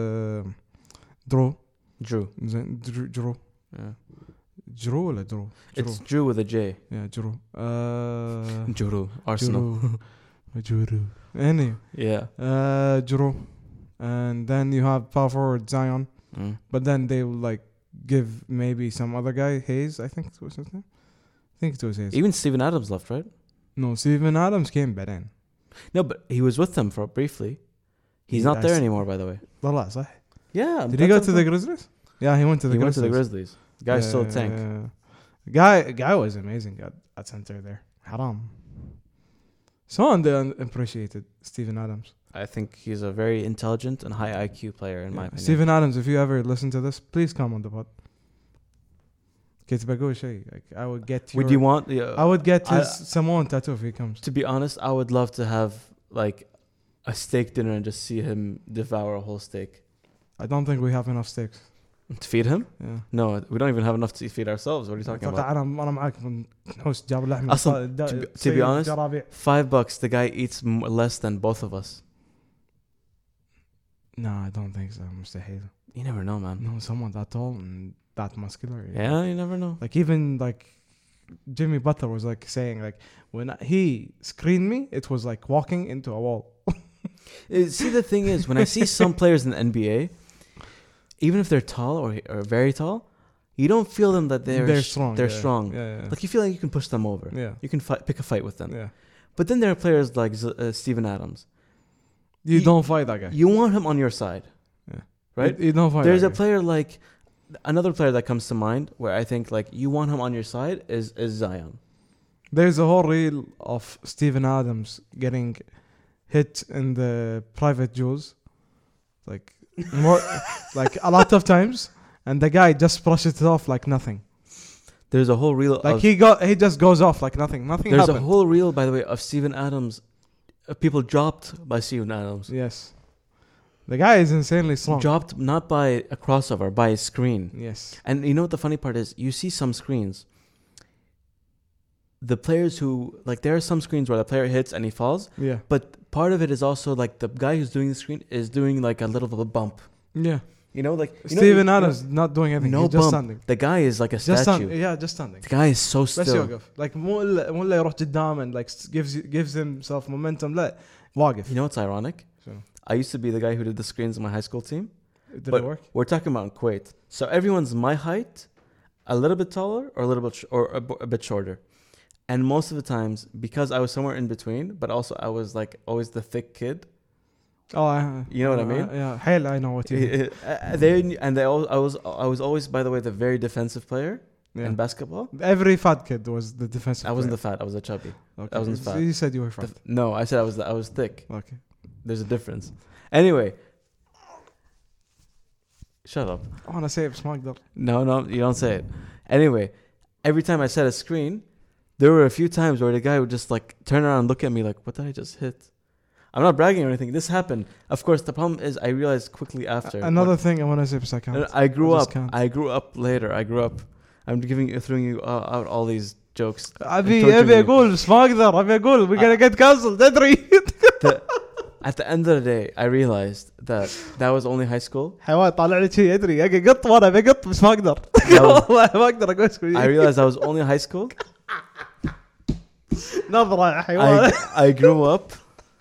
Drew. Drew. زين Drew. Drew. Yeah. Drew ولا Drew? Drew. It's Drew with a J. Yeah, Drew. Uh, Drew. Arsenal. Drew. Drew. Anyway, Yeah. uh, Drew. And then you have power forward Zion. Mm. But then they will like give maybe some other guy, Hayes, I think it was his name. I think it was Hayes. Even Steven Adams left, right? No, Steven Adams came back in. No, but he was with them for briefly. He's Yeah, not there I see. anymore, by the way. والله صح. Yeah. Did he go to the Grizzlies? Yeah, he went to the He went Grizzlies. to the Grizzlies. The guy's still a tank. Uh, guy, guy was amazing at, at center there. Haram. So underappreciated, Steven Adams. I think he's a very intelligent and high I Q player, in my Yeah. opinion. Steven Adams, if you ever listen to this, please come on the pod. كنت بقول شيء. Like, I would get your, Would you want? Uh, I would get his I- Samoan tattoo if he comes. To be honest, I would love to have like a steak dinner and just see him devour a whole steak. I don't think we have enough steaks. To feed him? Yeah. No, we don't even have enough to feed ourselves. What are you talking about? أنا أنا معاك من حوس جاب لحم. أصلاً, to be- to be honest, جرابيع. Five bucks, the guy eats m- less than both of us. No, I don't think so. مستحيل. You never know, man. No, someone that tall and that muscular. Yeah, you never know. Like even like Jimmy Butler was like saying like when he screened me, it was like walking into a wall. Uh, See, the thing is, when I see some players in the N B A, even if they're tall or, or very tall, you don't feel them that they're they're sh- strong. They're yeah. strong. Yeah, yeah. Like you feel like you can push them over. yeah. You can fight, pick a fight with them. Yeah. But then there are players like Z- uh, Steven Adams. You, You- don't fight that guy. You want him on your side, Yeah. right? You, you don't fight. There's that a guy. player like another player that comes to mind where I think like you want him on your side is is Zion. There's a whole reel of Steven Adams getting hit in the private jewels, like more, like a lot of times, and the guy just brushes it off like nothing. There's a whole reel Like of he got, he just goes off like nothing. Nothing there's happened. a whole reel, by the way, of Steven Adams, of people dropped by Steven Adams. Yes, the guy is insanely strong. Dropped not by a crossover, by a screen. Yes, And you know what the funny part is? You see some screens. The players who like there are some screens where the player hits and he falls, yeah, but part of it is also like the guy who's doing the screen is doing like a little bit of a bump. yeah. You know, like you know- Steven you know, Adams not doing anything. no He's just bump. standing. The guy is like a Just statue. stand, yeah, just standing. The guy is so بس still. يوقف. Like مو إلا مو إلا يروح قدام and like gives gives himself momentum. لا واقف. You know what's ironic? So, I used to be the guy who did the screens in my high school team. did But it work? We're talking about in Kuwait. So everyone's my height, a little bit taller or a little bit sh- or a, b- a bit shorter. And most of the times, because I was somewhere in between, but also I was like always the thick kid, Oh, uh, You know what I mean? Uh, yeah, hell, I know what you mean. Uh, they and they all, I was I was always, by the way, the very defensive player Yeah. in basketball. Every fat kid was the defensive. I wasn't the player. fat. I was a chubby. Okay. I wasn't fat. You said you were fat. The- no, I said I was the, I was thick. Okay. There's a difference. Anyway, shut up. I want to say it's Magdal. No, no, you don't say it. Anyway, every time I set a screen, there were a few times where the guy would just like turn around and look at me like, "What did I just hit?" I'm not bragging or anything. This happened. Of course, the problem is I realized quickly after. Another when- thing I want to say is I can't. I grew I up. just can't. I grew up later. I grew up. I'm giving you, throwing you uh, out all these jokes. أبي torturing أبي you. أقول بس ما أقدر أبي أقول we're gonna get cancelled تدري. The- at the end of the day, I realized that that was only high school. حيوان طالع لي شيء أدري أبي قط وأنا أبي قط بس ما أقدر. That was- والله ما أقدر أقول شوي. I realized I was only high school. نظرة يا حيوان. I, I grew up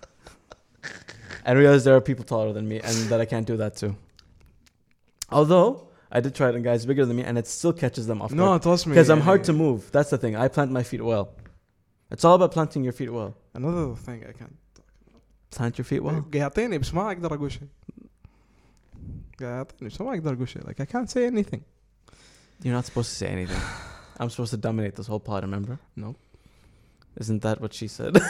and realized there are people taller than me and that I can't do that too. Although I did try it on guys bigger than me and it still catches them off No, guard. trust me. Because I'm hard to move. That's the thing. I plant my feet well. It's all about planting your feet well. Another thing I can't. Plant your feet well. يعطيني بس ما أقدر أقول شيء. يعطيني بس ما أقدر أقول شيء. Like I can't say anything. You're not supposed to say anything. I'm supposed to dominate this whole pod, remember? No. Isn't that what she said?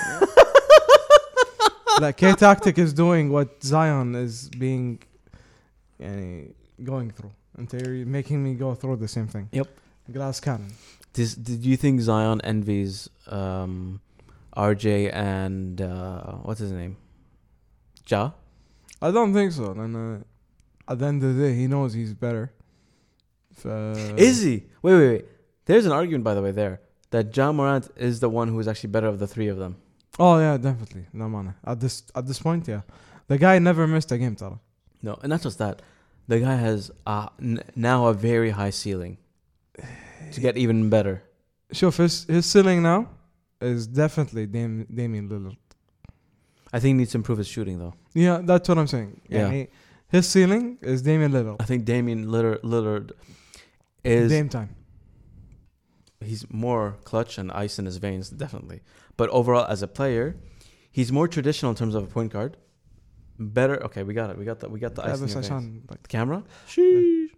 Like K-Tactic is doing what Zion is being يعني, going through. And they're making me go through the same thing. Yep. Glass cannon. This, did you think Zion envies um, R J and uh, what's his name? Ja? I don't think so. And uh, at the end of the day, he knows he's better. Uh, Is he? Wait, wait, wait. There's an argument, by the way, there that Ja Morant is the one who is actually better of the three of them. Oh yeah, definitely. No man. At this at this point, yeah, the guy never missed a game, Tara. No, and not just that. The guy has uh, n- now a very high ceiling to get even better. Sure, his his ceiling now is definitely Dam- Damian Lillard. I think he needs to improve his shooting, though. Yeah, that's what I'm saying. Yeah. يعني, his ceiling is Damian Lillard. I think Damian Lillard, Lillard is Dame time. he's more clutch and ice in his veins, definitely. But overall, as a player, he's more traditional in terms of a point guard. Better. Okay, we got it. We got the we got the Yeah, ice in بس your veins. عشان like The camera. Sheesh.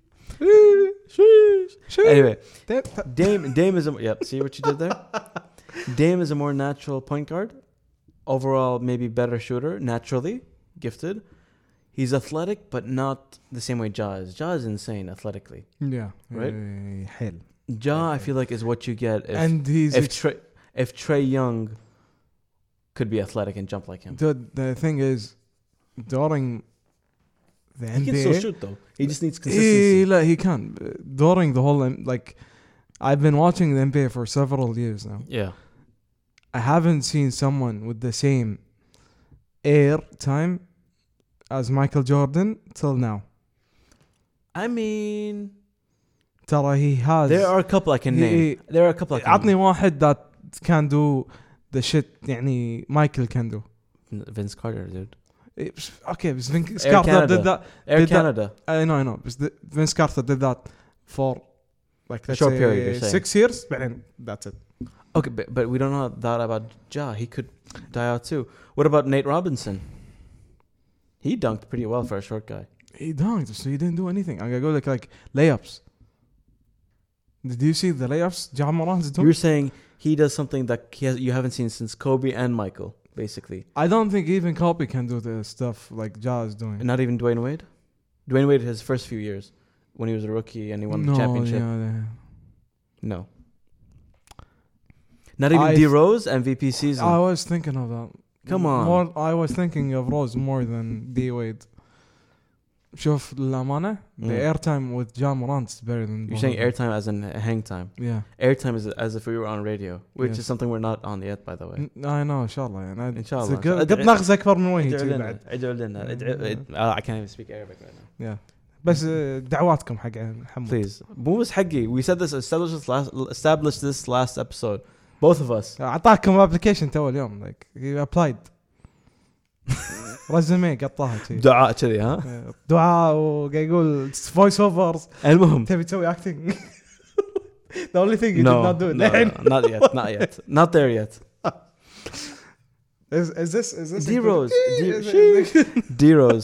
Anyway, Dame- Dame Dame is a yep. See what you did there? Dame is a more natural point guard. Overall, maybe better shooter, naturally gifted. He's athletic, but not the same way Ja is. Ja is insane athletically. Yeah. Right? Uh, hell. Ja, I feel like, is what you get if And he's if ex- Trey, if Trey Young could be athletic and jump like him. the the thing is during the He can N B A. still shoot though. He just needs He, consistency. لا, he can. During the whole M- like, I've been watching the N B A for several years now. Yeah. I haven't seen someone with the same air time as Michael Jordan till now. I mean, ترى he has. there are a couple I can he- name. There are a couple I can عطني واحد that can do the shit يعني Michael can do. name. Vince Carter, dude. إيه، بس- Okay, بس Vince Air Carter Canada. did that. Air Did that- Canada. I know, I know. But the- Vince Carter did that for like let's Short say period, you're saying. six years. بعدين that's it. Okay, but, but we don't know that about Ja. He could die out too. What about Nate Robinson? He dunked pretty well for a short guy. He dunked, so he didn't do anything. I'm gonna go like like layups. Did you see the layups? Ja Morant's doing. You're saying he does something that he has, you haven't seen since Kobe and Michael, basically. I don't think even Kobe can do the stuff like Ja is doing. And not even Dwayne Wade? Dwayne Wade, his first few years, when he was a rookie and he won no, the championship. Yeah, yeah. No. Not even I- D Rose M V P season. I was thinking of that. Come on. More, I was thinking of Rose more than D Wade. شوف للأمانة the Mm. airtime with Ja Morant is better than. You're both saying of them. airtime as in hang time. Yeah. Airtime is as if we were on radio, which Yes. is something we're not on yet, by the way. N- I know إن شاء الله يعني. إن شاء الله. قد ناخذ أكبر من وجهي ادعوا شي لنا بعد. ادعوا لنا ادعوا- اد- uh, I can't even speak Arabic right now. Yeah. بس دعواتكم حق حمود. Please. مو بس حقي. We said this established this last established this last episode. Both of us. أعطاكم application تو اليوم like he applied. رزمي قطاها شي. دعاء كذي ها. دعاء وقاعد يقول voice overs. المهم. تبي تسوي acting. The only thing you No, did not do it. no, no, not yet, not yet, not there yet. Is is this is this D Rose, D Is it- D Rose.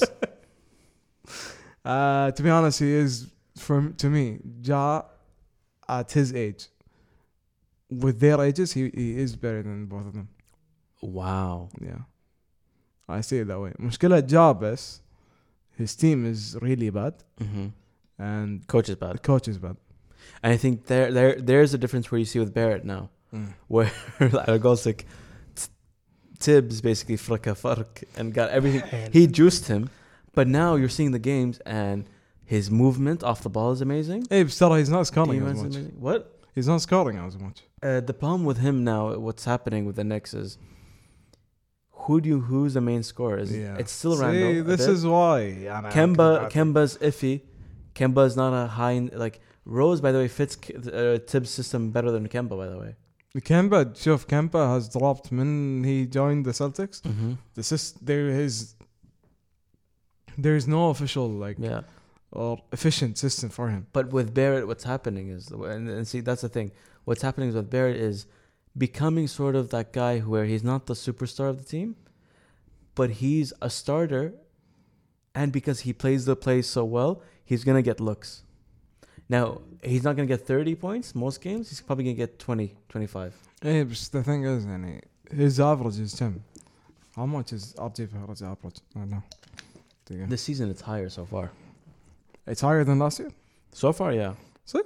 Uh, to be honest, he is from to me. Ja, at his age, with their ages, he he is better than both of them. Wow. Yeah, I see it that way. مشكلة Ja بس, his team is really bad Mm-hmm. and Coach is bad. the coach is bad. And I think there there there's a difference where you see with Barrett now, where على قولتك Tibbs basically فرك فرك and got everything. He juiced him, but now you're seeing the games and his movement off the ball is amazing. Hey, but still, he's not scoring Defense as is much. amazing. What? He's not scoring as much. Uh, the problem with him now, what's happening with the Knicks is, who do you who's the main scorer? Is Yeah. it's still See, Randall. a this bit. is why. Kemba. Kemba's iffy. Kemba is not a high like Rose. By the way, fits uh, Tibbs' system better than Kemba. By the way. Kemba, شوف, Kemba has dropped when he joined the Celtics. Mm-hmm. This is there is there is no official like Yeah. or efficient system for him. But with Barrett, what's happening is, and, and see, that's the thing. What's happening with Barrett is becoming sort of that guy where he's not the superstar of the team, but he's a starter, and because he plays the play so well, he's gonna get looks. Now he's not gonna get thirty points most games. He's probably gonna get twenty, twenty-five. Hey, but the thing is, يعني, his average is ten. How much is R J Barrett's average? I don't know. This season it's higher so far. It's higher than last year. So far, yeah. Six?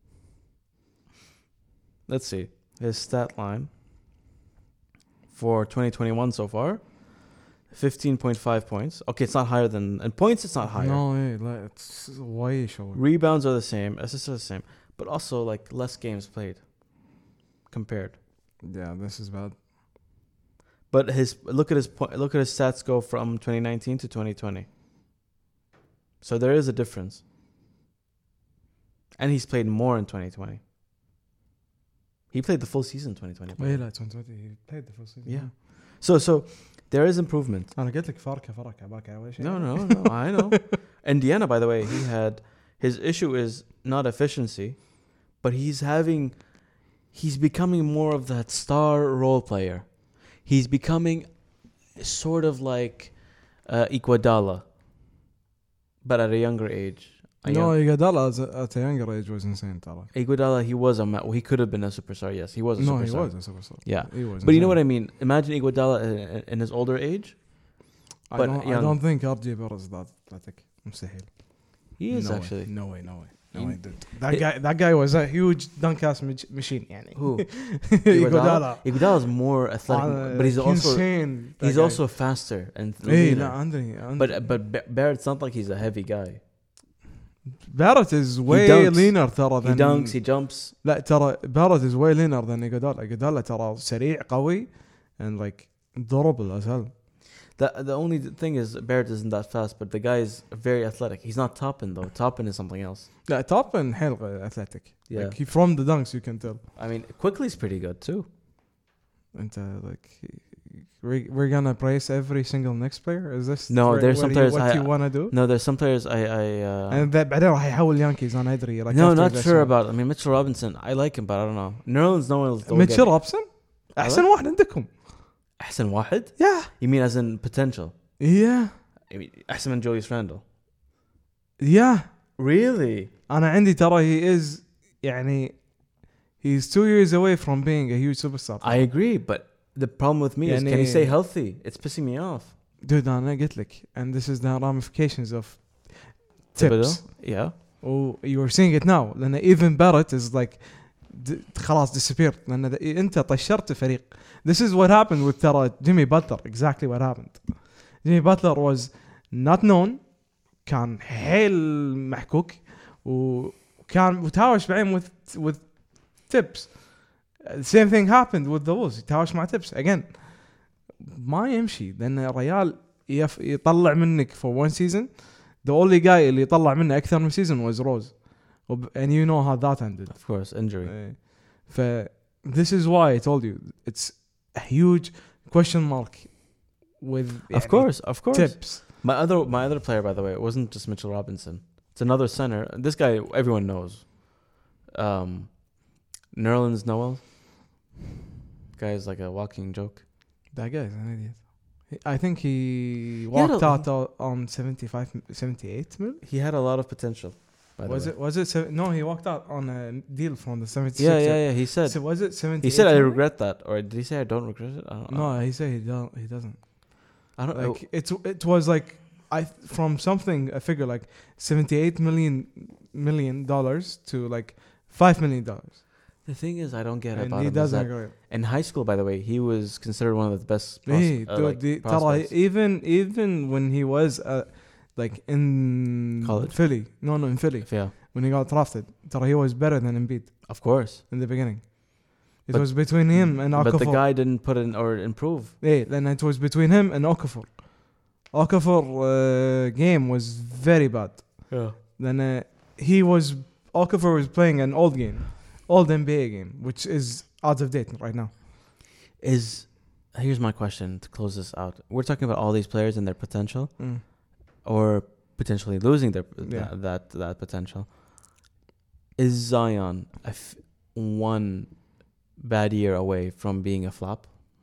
Let's see his stat line for twenty twenty-one so far. fifteen point five points. Okay, it's not higher than in points. It's not higher. No, hey, like, it's way short. Rebounds are the same. Assists are the same, but also like less games played compared. Yeah, this is bad. But his look at his point. Look at his stats go from twenty nineteen to twenty twenty. So there is a difference, and he's played more in twenty twenty. He played the full season twenty twenty. Wait, لا twenty twenty he played the first season. Yeah. So so there is improvement. أنا قلت لك فرق فرق عباك أول شيء. No, no, no. I know. Indiana, by the way, he had his issue is not efficiency, but he's having, he's becoming more of that star role player. He's becoming sort of like uh, Iguodala, but at a younger age. A No, young- Iguodala at a younger age was insane, ترى. Iguodala, he was a ma- well, he could have been a superstar. Yes, he was a No, superstar. he was a superstar. Yeah, He was. but you know insane. what I mean. Imagine Iguodala in, in his older age. I but don't, I young. don't think R J Barrett is that athletic. مستحيل. He is no actually. Way. No way, no way. No He- way, dude. That He- guy that guy was a huge dunk ass mach- machine يعني. Who? Iguodala. Iguodala is more athletic, Uh, but he's also insane. that he's guy. also faster and Hey, leaner. لا عندني. But but Ba- Barrett's not like he's a heavy guy. Barrett is way dunks. leaner ترى He than. dunks, he jumps. لا ترى Barrett is way leaner than Iguodala. Iguodala ترى سريع قوي and like durable as hell. The the only thing is Barrett isn't that fast, but the guy is very athletic. He's not Toppin though. Toppin is something else. لا Toppin حيل athletic. Yeah. Like he from the dunks you can tell. I mean, Quickly's pretty good too. And uh, like we we're gonna praise every single next player. Is this No, where- there's some what you- players what I- you wanna do? No, there's some players I I. Uh, And that بعدين راح يحول يانكيز انا ادري. Like no, after not this sure one. about. I mean, Mitchell Robinson. I like him, but I don't know. Nerlens Noel. ميتشل روبسون احسن واحد عندكم. أحسن واحد? Yeah. You mean as in potential? Yeah. I mean, أحسن من Julius Randle. Yeah. Really? انا عندي ترى he is يعني he's two years away from being a huge superstar. I agree, but the problem with me is, can he يعني- stay healthy? It's pissing me off. Dude انا قلت لك and this is the ramifications of Thibodeau? tips. Yeah. Oh, you are seeing it now لأن even Barrett is like d- خلاص disappeared لأن th- أنت طشرت فريق. This is what happened with ترى Jimmy Butler. Exactly what happened. Jimmy Butler was not known. كان حيل محكوك وكان متهاوش بعدين with with tips. The same thing happened with the Wolves. يتهاوش مع tips again. ما يمشي لأن الريال يف يطلع منك for one season. The only guy اللي يطلع منه أكثر من season was Rose. وب- and you know how that ended. Of course, injury. إيه. ف this is why I told you it's a huge question mark with Of يعني course, of course. tips. My other my other player, by the way, it wasn't just Mitchell Robinson. It's another center. This guy everyone knows. Um, Nerlens Noel. Guy is like a walking joke. That guy is an idiot. He- I think he had walked a- out o- on seventy-five, seventy-eight mil. He had a lot of potential. By the Was way. it? Was it? Seven, no, he walked out on a deal from the seventy-six. Yeah, yeah, yeah. He said. So was it seventy? He said, "I regret that," or did he say, "I don't regret it"? I don't know. No, he said he don't. He doesn't. I don't. Like it. It was like I from something a figure like seventy-eight million million dollars to like five million dollars. The thing is, I don't get And about he him. is doesn't that agree. in high school, by the way, he was considered one of the best. Pros- Hey, uh, dude, like, the, ترى prospects. even even when he was uh, like in College? Philly, no, no, in Philly, Yeah, when he got drafted, ترى he was better than Embiid of course. in the beginning. It But- was between him and Okafor. But the guy didn't put in or improve. Hey, then it was between him and Okafor. Okafor uh, game was very bad. Yeah. Then uh, he was Okafor was playing an old game, old N B A game, which is out of date right now. Is here's my question to close this out. We're talking about all these players and their potential, Mm. or potentially losing their Yeah. that, that that potential. Is Zion a f- one bad year away from being a flop?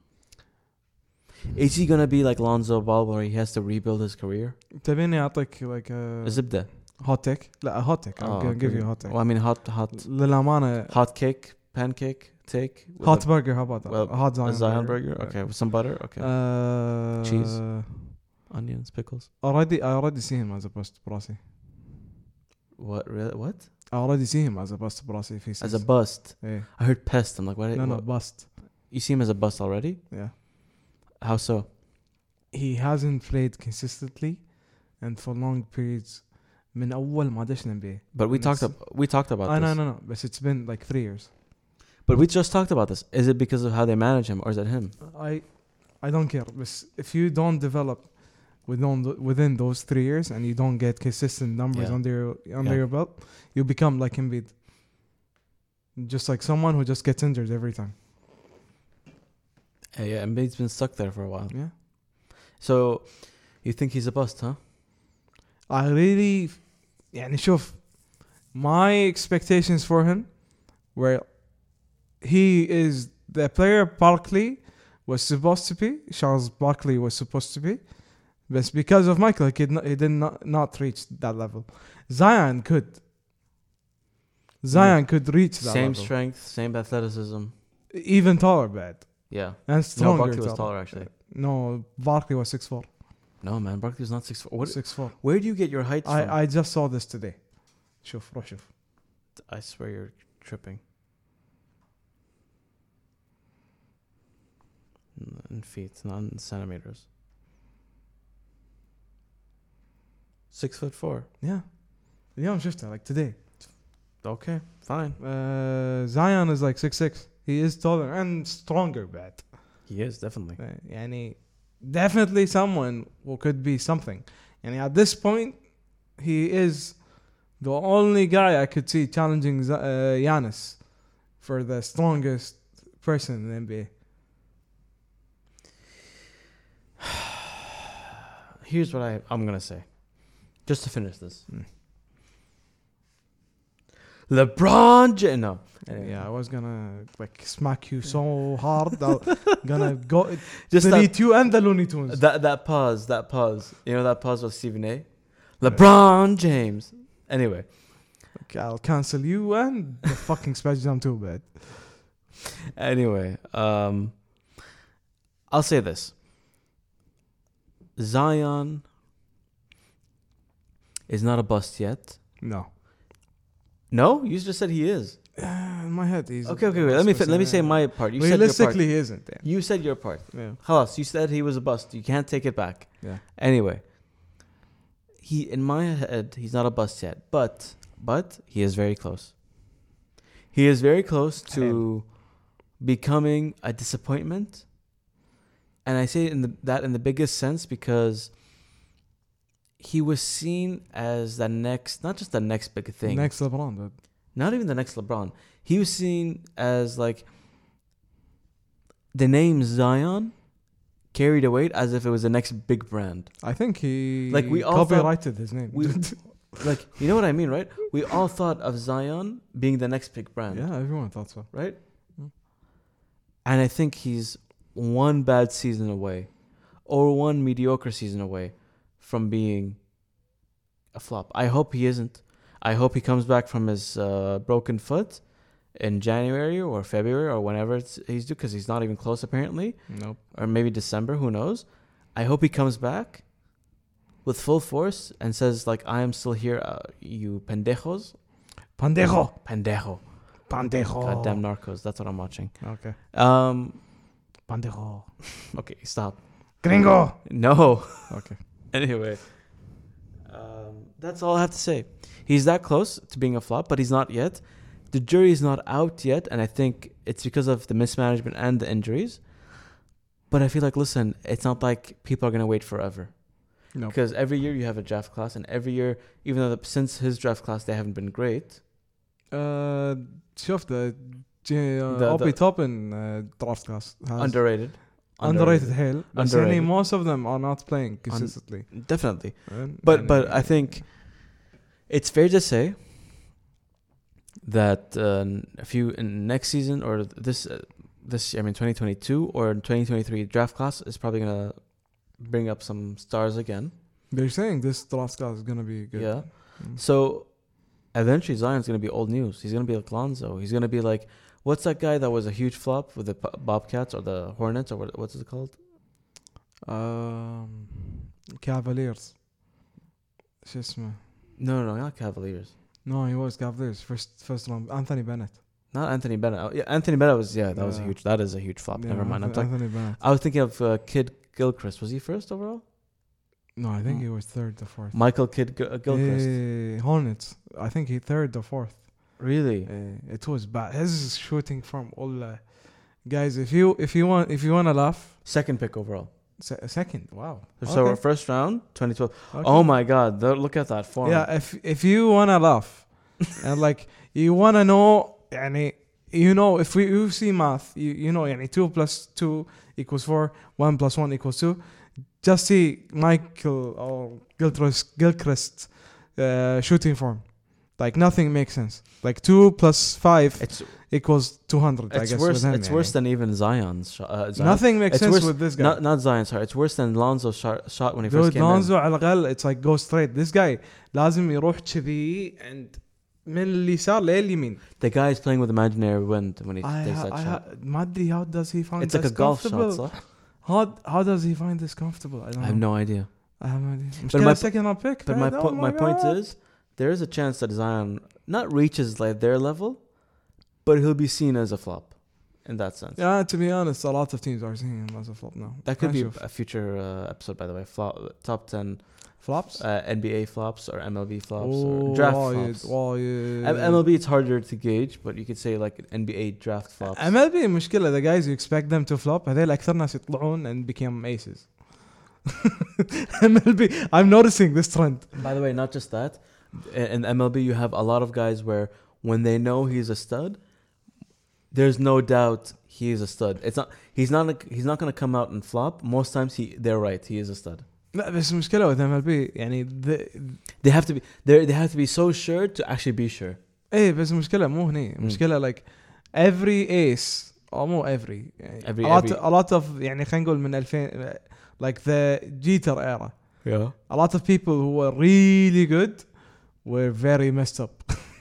Is he gonna be like Lonzo Ball, where he has to rebuild his career? تبيني أعطيك like a زبدة. hot take. لا hot take. I'm Oh, gonna give okay. you a hot take. Well, I mean, hot, hot, للأمانة hot cake, pancake, take. with hot a- burger. How about that? well, a hot a Zion, Zion burger. Okay, with some butter. Okay, Uh, Cheese. onions, pickles. Already, I already see him as a bust براسي. What? Really? What? I already see him as a bust براسي في As a bust. Yeah. I heard pest. I'm like, what? No, no, what- bust. You see him as a bust already? Yeah. How so? He hasn't played consistently and for long periods من أول ما دشنا N B A. But we And talked. it's- Ab- we talked about I this. no no no but it's been like three years. But we just talked about this. Is it because of how they manage him, or is it him? I I don't care but if you don't develop within th- within those three years and you don't get consistent numbers Yeah. under your under Yeah. your belt, you become like Embiid. Just like someone who just gets injured every time. Uh, yeah, Embiid's been stuck there for a while. Yeah. So, you think he's a bust, huh? I really يعني شوف my expectations for him were he is the player Barkley was supposed to be Charles Barkley was supposed to be but because of Michael he, could not, he did not, not reach that level. Zion could Zion could reach that Same level. strength, same athleticism. Even taller bad Yeah. and No, stronger. Barkley was taller. taller actually. No, Barkley was six foot four. No, man, Barkley's not six foot. What? six foot four. Where do you get your height from? I I just saw this today. شوف روح شوف. I swear you're tripping. In feet, not in centimeters. Six foot four. Yeah. اليوم شفتها like today. Okay, fine. Uh, Zion is like six six. He is taller and stronger bad. He is definitely. Uh, يعني definitely someone who could be something. And at this point, he is the only guy I could see challenging Z- uh, Giannis for the strongest person in the N B A. Here's what I I'm gonna say, just to finish this. Mm. LeBron James. No. Anyway. Yeah, I was gonna like smack you so hard. I'm gonna go Just that, delete you and the Looney Tunes. that that pause. That pause. You know that pause with Stephen A. LeBron James. Anyway. Okay, I'll cancel you and the fucking Space Jam too bad. Anyway, um, I'll say this. Zion is not a bust yet. No. No, you just said he is. Uh, in my head, he's Okay, okay, wait. Let me fi- let me say my part. You said your realistically part. he isn't. Yeah. You said your part. Yeah. Halas, you said he was a bust. You can't take it back. Yeah. Anyway, he in my head he's not a bust yet, but but he is very close. He is very close to becoming a disappointment, and I say in the, that in the biggest sense because he was seen as the next, not just the next big thing, Next LeBron, dude. not even the next LeBron. He was seen as like the name Zion carried a weight as if it was the next big brand. I think he Like, we all copyrighted his name. We, like, you know what I mean, right? We all thought of Zion being the next big brand, yeah, everyone thought so. right? Mm. And I think he's one bad season away or one mediocre season away from being a flop. I hope he isn't. I hope he comes back from his uh, broken foot in January or February or whenever it's, he's due, because he's not even close apparently. Nope. Or maybe December, who knows. I hope he comes back with full force and says, like, I am still here, uh, you pendejos. Pendejo. Pendejo. Pendejo. Goddamn Narcos. That's what I'm watching. Okay. Um. Pendejo. Okay, stop. Gringo. No. Okay. Anyway. Um, that's all I have to say. He's that close to being a flop, but he's not yet. The jury is not out yet, and I think it's because of the mismanagement and the injuries. But I feel like, listen, it's not like people are going to wait forever. No. Because every year you have a draft class, and every year, even though the, since his draft class they haven't been great. Uh, شفت The- Obi the- Toppin uh, draft class has Underrated. underrated hell. But Underrated. most of them are not playing consistently. Definitely. And- But and- but I think it's fair to say that uh, a few in next season or this uh, this I mean twenty twenty-two or twenty twenty-three draft class is probably gonna bring up some stars again. they're saying this draft class is gonna be good. Yeah. Mm. So eventually Zion's gonna be old news. He's gonna be like Lonzo. He's gonna be like, what's that guy that was a huge flop with the P- Bobcats or the Hornets or what, what's it called? Um, Cavaliers. شو اسمه? No, no, no, not Cavaliers. No, he was Cavaliers first first round. Anthony Bennett. Not Anthony Bennett. Oh, yeah, Anthony Bennett was yeah, that was a Yeah. huge. That is a huge flop. Yeah, Never mind. I'm Anthony, talking. Anthony Bennett. I was thinking of uh, Kid Gilchrist. Was he first overall? No, I think Mm. he was third or fourth. Michael Kid G- uh, Gilchrist. Eh, Hornets. I think he third or fourth. Really? Uh, it was bad. His shooting from all uh, guys. If you if you want if you want to laugh, Second pick overall. se- second. Wow. So Okay. first round, twenty twelve. Okay. Oh my God! The- look at that form. Yeah. If if you want to laugh, and like you want to know, يعني, you know, if we you see math, you you know, يعني two plus two equals four, one plus one equals two. Just see Michael or Gilchrist Gilchrist uh, shooting form. Like nothing makes sense. Like two plus five It's equals two hundred. I it's guess worse. with him, It's يعني. worse than even Zion's. Shot, uh, Zion. Nothing makes It's sense worse- with this guy. Not not Zion. Sorry, it's worse than Lonzo's shot, shot when he first Dude, came Lonzo على الأقل it's like go straight. This guy لازم يروح كذي and من اليسار لليمين. in. The guy is playing with imaginary wind when he I, takes ha- that I shot. ha- ما أدري how does he find It's like this a golf shot. comfortable? So How how does he find this comfortable? I don't I have know. no idea. I have no idea. But مشكلة my- second round pick. But my oh po- my point God. is, there is a chance that Zion not reaches like their level, but he'll be seen as a flop, in that sense. Yeah, to be honest, a lot of teams are seeing him as a flop now. That could be نشوف. a future uh, episode, by the way. Flop, top ten flops. uh, N B A flops or M L B flops Oh, or draft وايد- flops. وايد. M- MLB it's harder to gauge, but you could say like N B A draft flops. M L B مشكلة the guys you expect them to flop هذول أكثر ناس يطلعون and become aces. M L B I'm noticing this trend. By the way, not just that. In in M L B, you have a lot of guys where when they know he's a stud, there's no doubt he is a stud. It's not. He's not. Like, he's not going to come out and flop. Most times, he they're right. He is a stud. لا بس المشكلة with M L B يعني the, They have to be. They they have to be so sure to actually be sure. ايه بس المشكلة مو هني المشكلة like every ace أو مو every يعني Every- a lot every- a lot of يعني خلينا نقول من ألفين like the Jeter era Yeah. a lot of people who were really good were very messed up.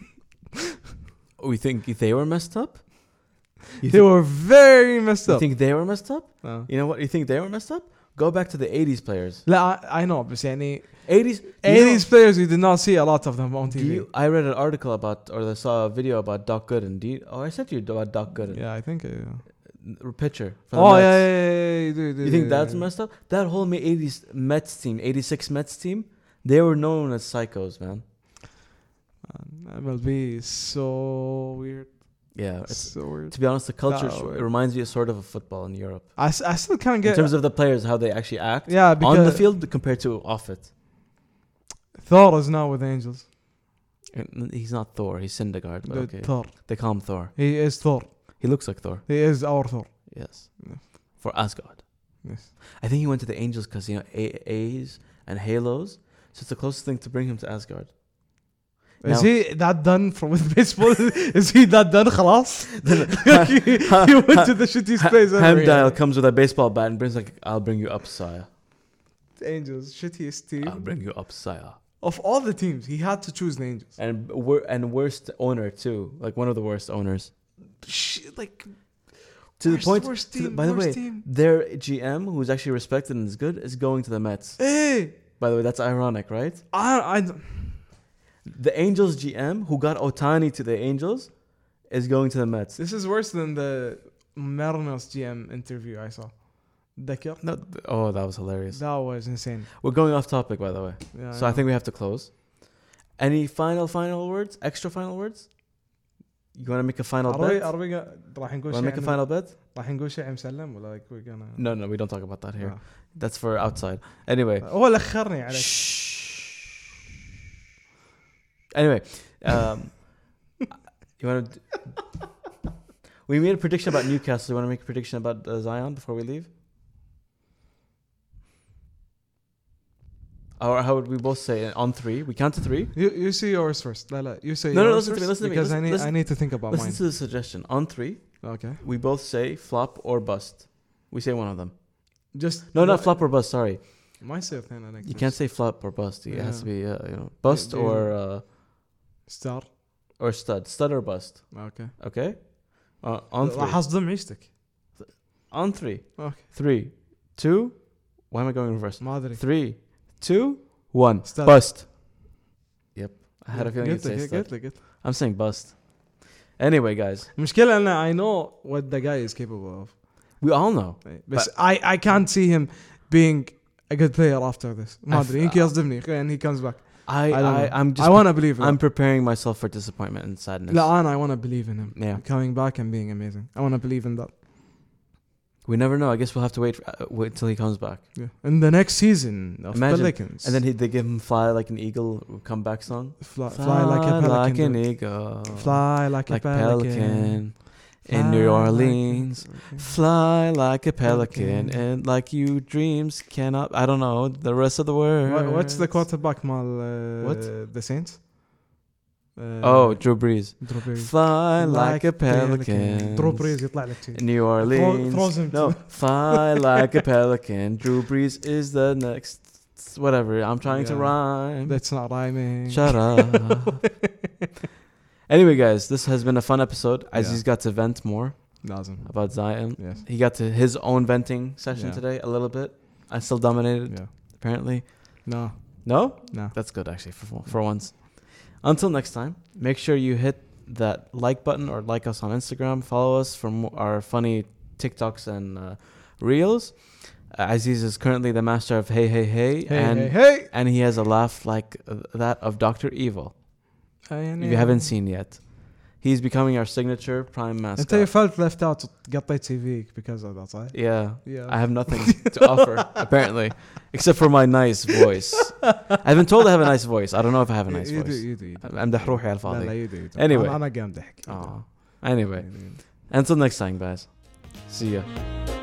We think they were messed up. You, They were very messed you up. think they were messed up? Uh. You know what? You think they were messed up? Go back to the eighties players. لا I, I know بس يعني eighties. eighties players you did not see a lot of them on T Do V. you, I read an article about, or I saw a video about Doc Gooden. Do you, oh, I said to you about Doc Gooden. Yeah, I think. Uh, Pitcher. For the oh Mets. yeah, yeah, yeah, yeah, you do, do, You think do, that's do. messed up? That whole eighties Mets team, eighty-six Mets team, they were known as psychos, man. Uh, M L B is so weird. Yeah, it's, so weird. to be honest, the culture Oh, sh- weird. it reminds me of sort of a football in Europe. I, s- I still can't In get. terms of the players, how they actually act yeah, because on the field compared to off it. Thor is now with Angels. And He's not Thor, he's Syndergaard, but The okay. Thor. They call him Thor. He is Thor. He looks like Thor. He is our Thor. Yes. Yeah. For Asgard. Yes. I think he went to the Angels because, you know, A- A's and Halos. So it's the closest thing to bring him to Asgard. Is Now- he that done from with baseball? Is he that done? خلاص. he, he went to the shittiest place ever. Hamdale comes with a baseball bat and brings like, I'll bring you up, sire. Angels, shittiest team I'll bring you up, sire. of all the teams. He had to choose the Angels. And wor- and worst owner too, like one of the worst owners. Sh- like To the worst- point. worst to the- team, by the way, worst team. their G M, who's actually respected and is good, is going to the Mets. Hey, By the way, that's ironic, right? I, I, don't- The Angels G M, who got Otani to the Angels, is going to the Mets. this is worse than the Mariners G M interview I saw. ذكر? No, th- oh, that was hilarious. That was insane. We're going off topic, by the way. Yeah, So I think we have to close. Any final, final words? Extra final words? You want to make a final عربي bet? عربي راح Want نقول to شيء make a عن- final bet? راح نقول شيء مسلم ولا like we're gonna No, no, we don't talk about that here. آه. That's for outside. Anyway. هو اللي اخرني عليك. Shh. Anyway, um, you want to? We made a prediction about Newcastle. You want to make a prediction about uh, Zion before we leave? Or how would we both say it? On three? We count to three. You you say yours first. لا لا you say No, no, yours listen to me, first listen to me, because I listen- need listen- I need to think about Listen mine. to the suggestion. On three, Okay. we both say flop or bust. We say one of them. Just No, not flop or bust. Sorry, ما يصير اثنين عليك. you can't say flop or bust. It has Yeah. to be, uh, you know, bust Do- or uh, ستار. or stud, stud or bust. Okay. Okay. Uh, on راح three. اصدم عيشتك. On three. Okay. Three, two. Why am I going reverse? ما ادري. Three, two, one. Stud. Bust. Yep. I had a feeling you'd قلت say لك stud. قلت لك قلت. I'm saying bust. Anyway, guys, المشكلة أن I know what the guy is capable of. we all know. بس I I can't see him being a good player after this. ما I f- ادري يمكن يصدمني and he comes back. I, I don't I, know. I'm just. I want to believe in I'm him. preparing myself for disappointment and sadness. لا أنا I want to believe in him. Yeah. Coming back and being amazing. I want to believe in that. We never know. I guess we'll have to wait, for, uh, wait till he comes back. Yeah. In the next season of Imagine. Pelicans. And then he, they give him "Fly Like an Eagle" comeback song. fly, fly like a pelican. like an dude. eagle. Fly like, like a pelican. pelican. Fly In New like Orleans, a- fly like a pelican, Pelican. and like you dreams cannot. I don't know the rest of the words. What, what's the quarterback مال uh, What? the Saints? Uh, Oh, Drew Brees. Drew Brees. Fly like a pelican. Drew Brees يطلع لك شيء. New Orleans. throws him no, to- fly like a pelican. Drew Brees is the next. Whatever. I'm trying to Yeah. rhyme. That's not rhyming. Shut up. Anyway, guys, this has been a fun episode. Aziz Yeah. got to vent more لازم. about Zion. Yes. He got to his own venting session Yeah. today a little bit. I still dominated, Yeah. apparently. No. No? No. That's good, actually, for, for once. Until next time, make sure you hit that like button or like us on Instagram. Follow us for mo- our funny TikToks and uh, Reels. Uh, Aziz is currently the master of Hey Hey Hey. Hey and, hey hey. and he has a laugh like uh, that of Doctor Evil. يعني If you haven't seen yet. He's becoming our signature prime mascot. انت you felt left out قطيت سي فيك because of that صح؟ Yeah. Yeah. I have nothing to offer, apparently, except for my nice voice. I've been told I have a nice voice. I don't know if I have a nice You do, voice. you do, you do. أمدح روحي على لا لا الفاضي. you do, you do. Anyway. أنا أنا قاعد أضحك. Aw. Anyway, until next time, guys. See ya.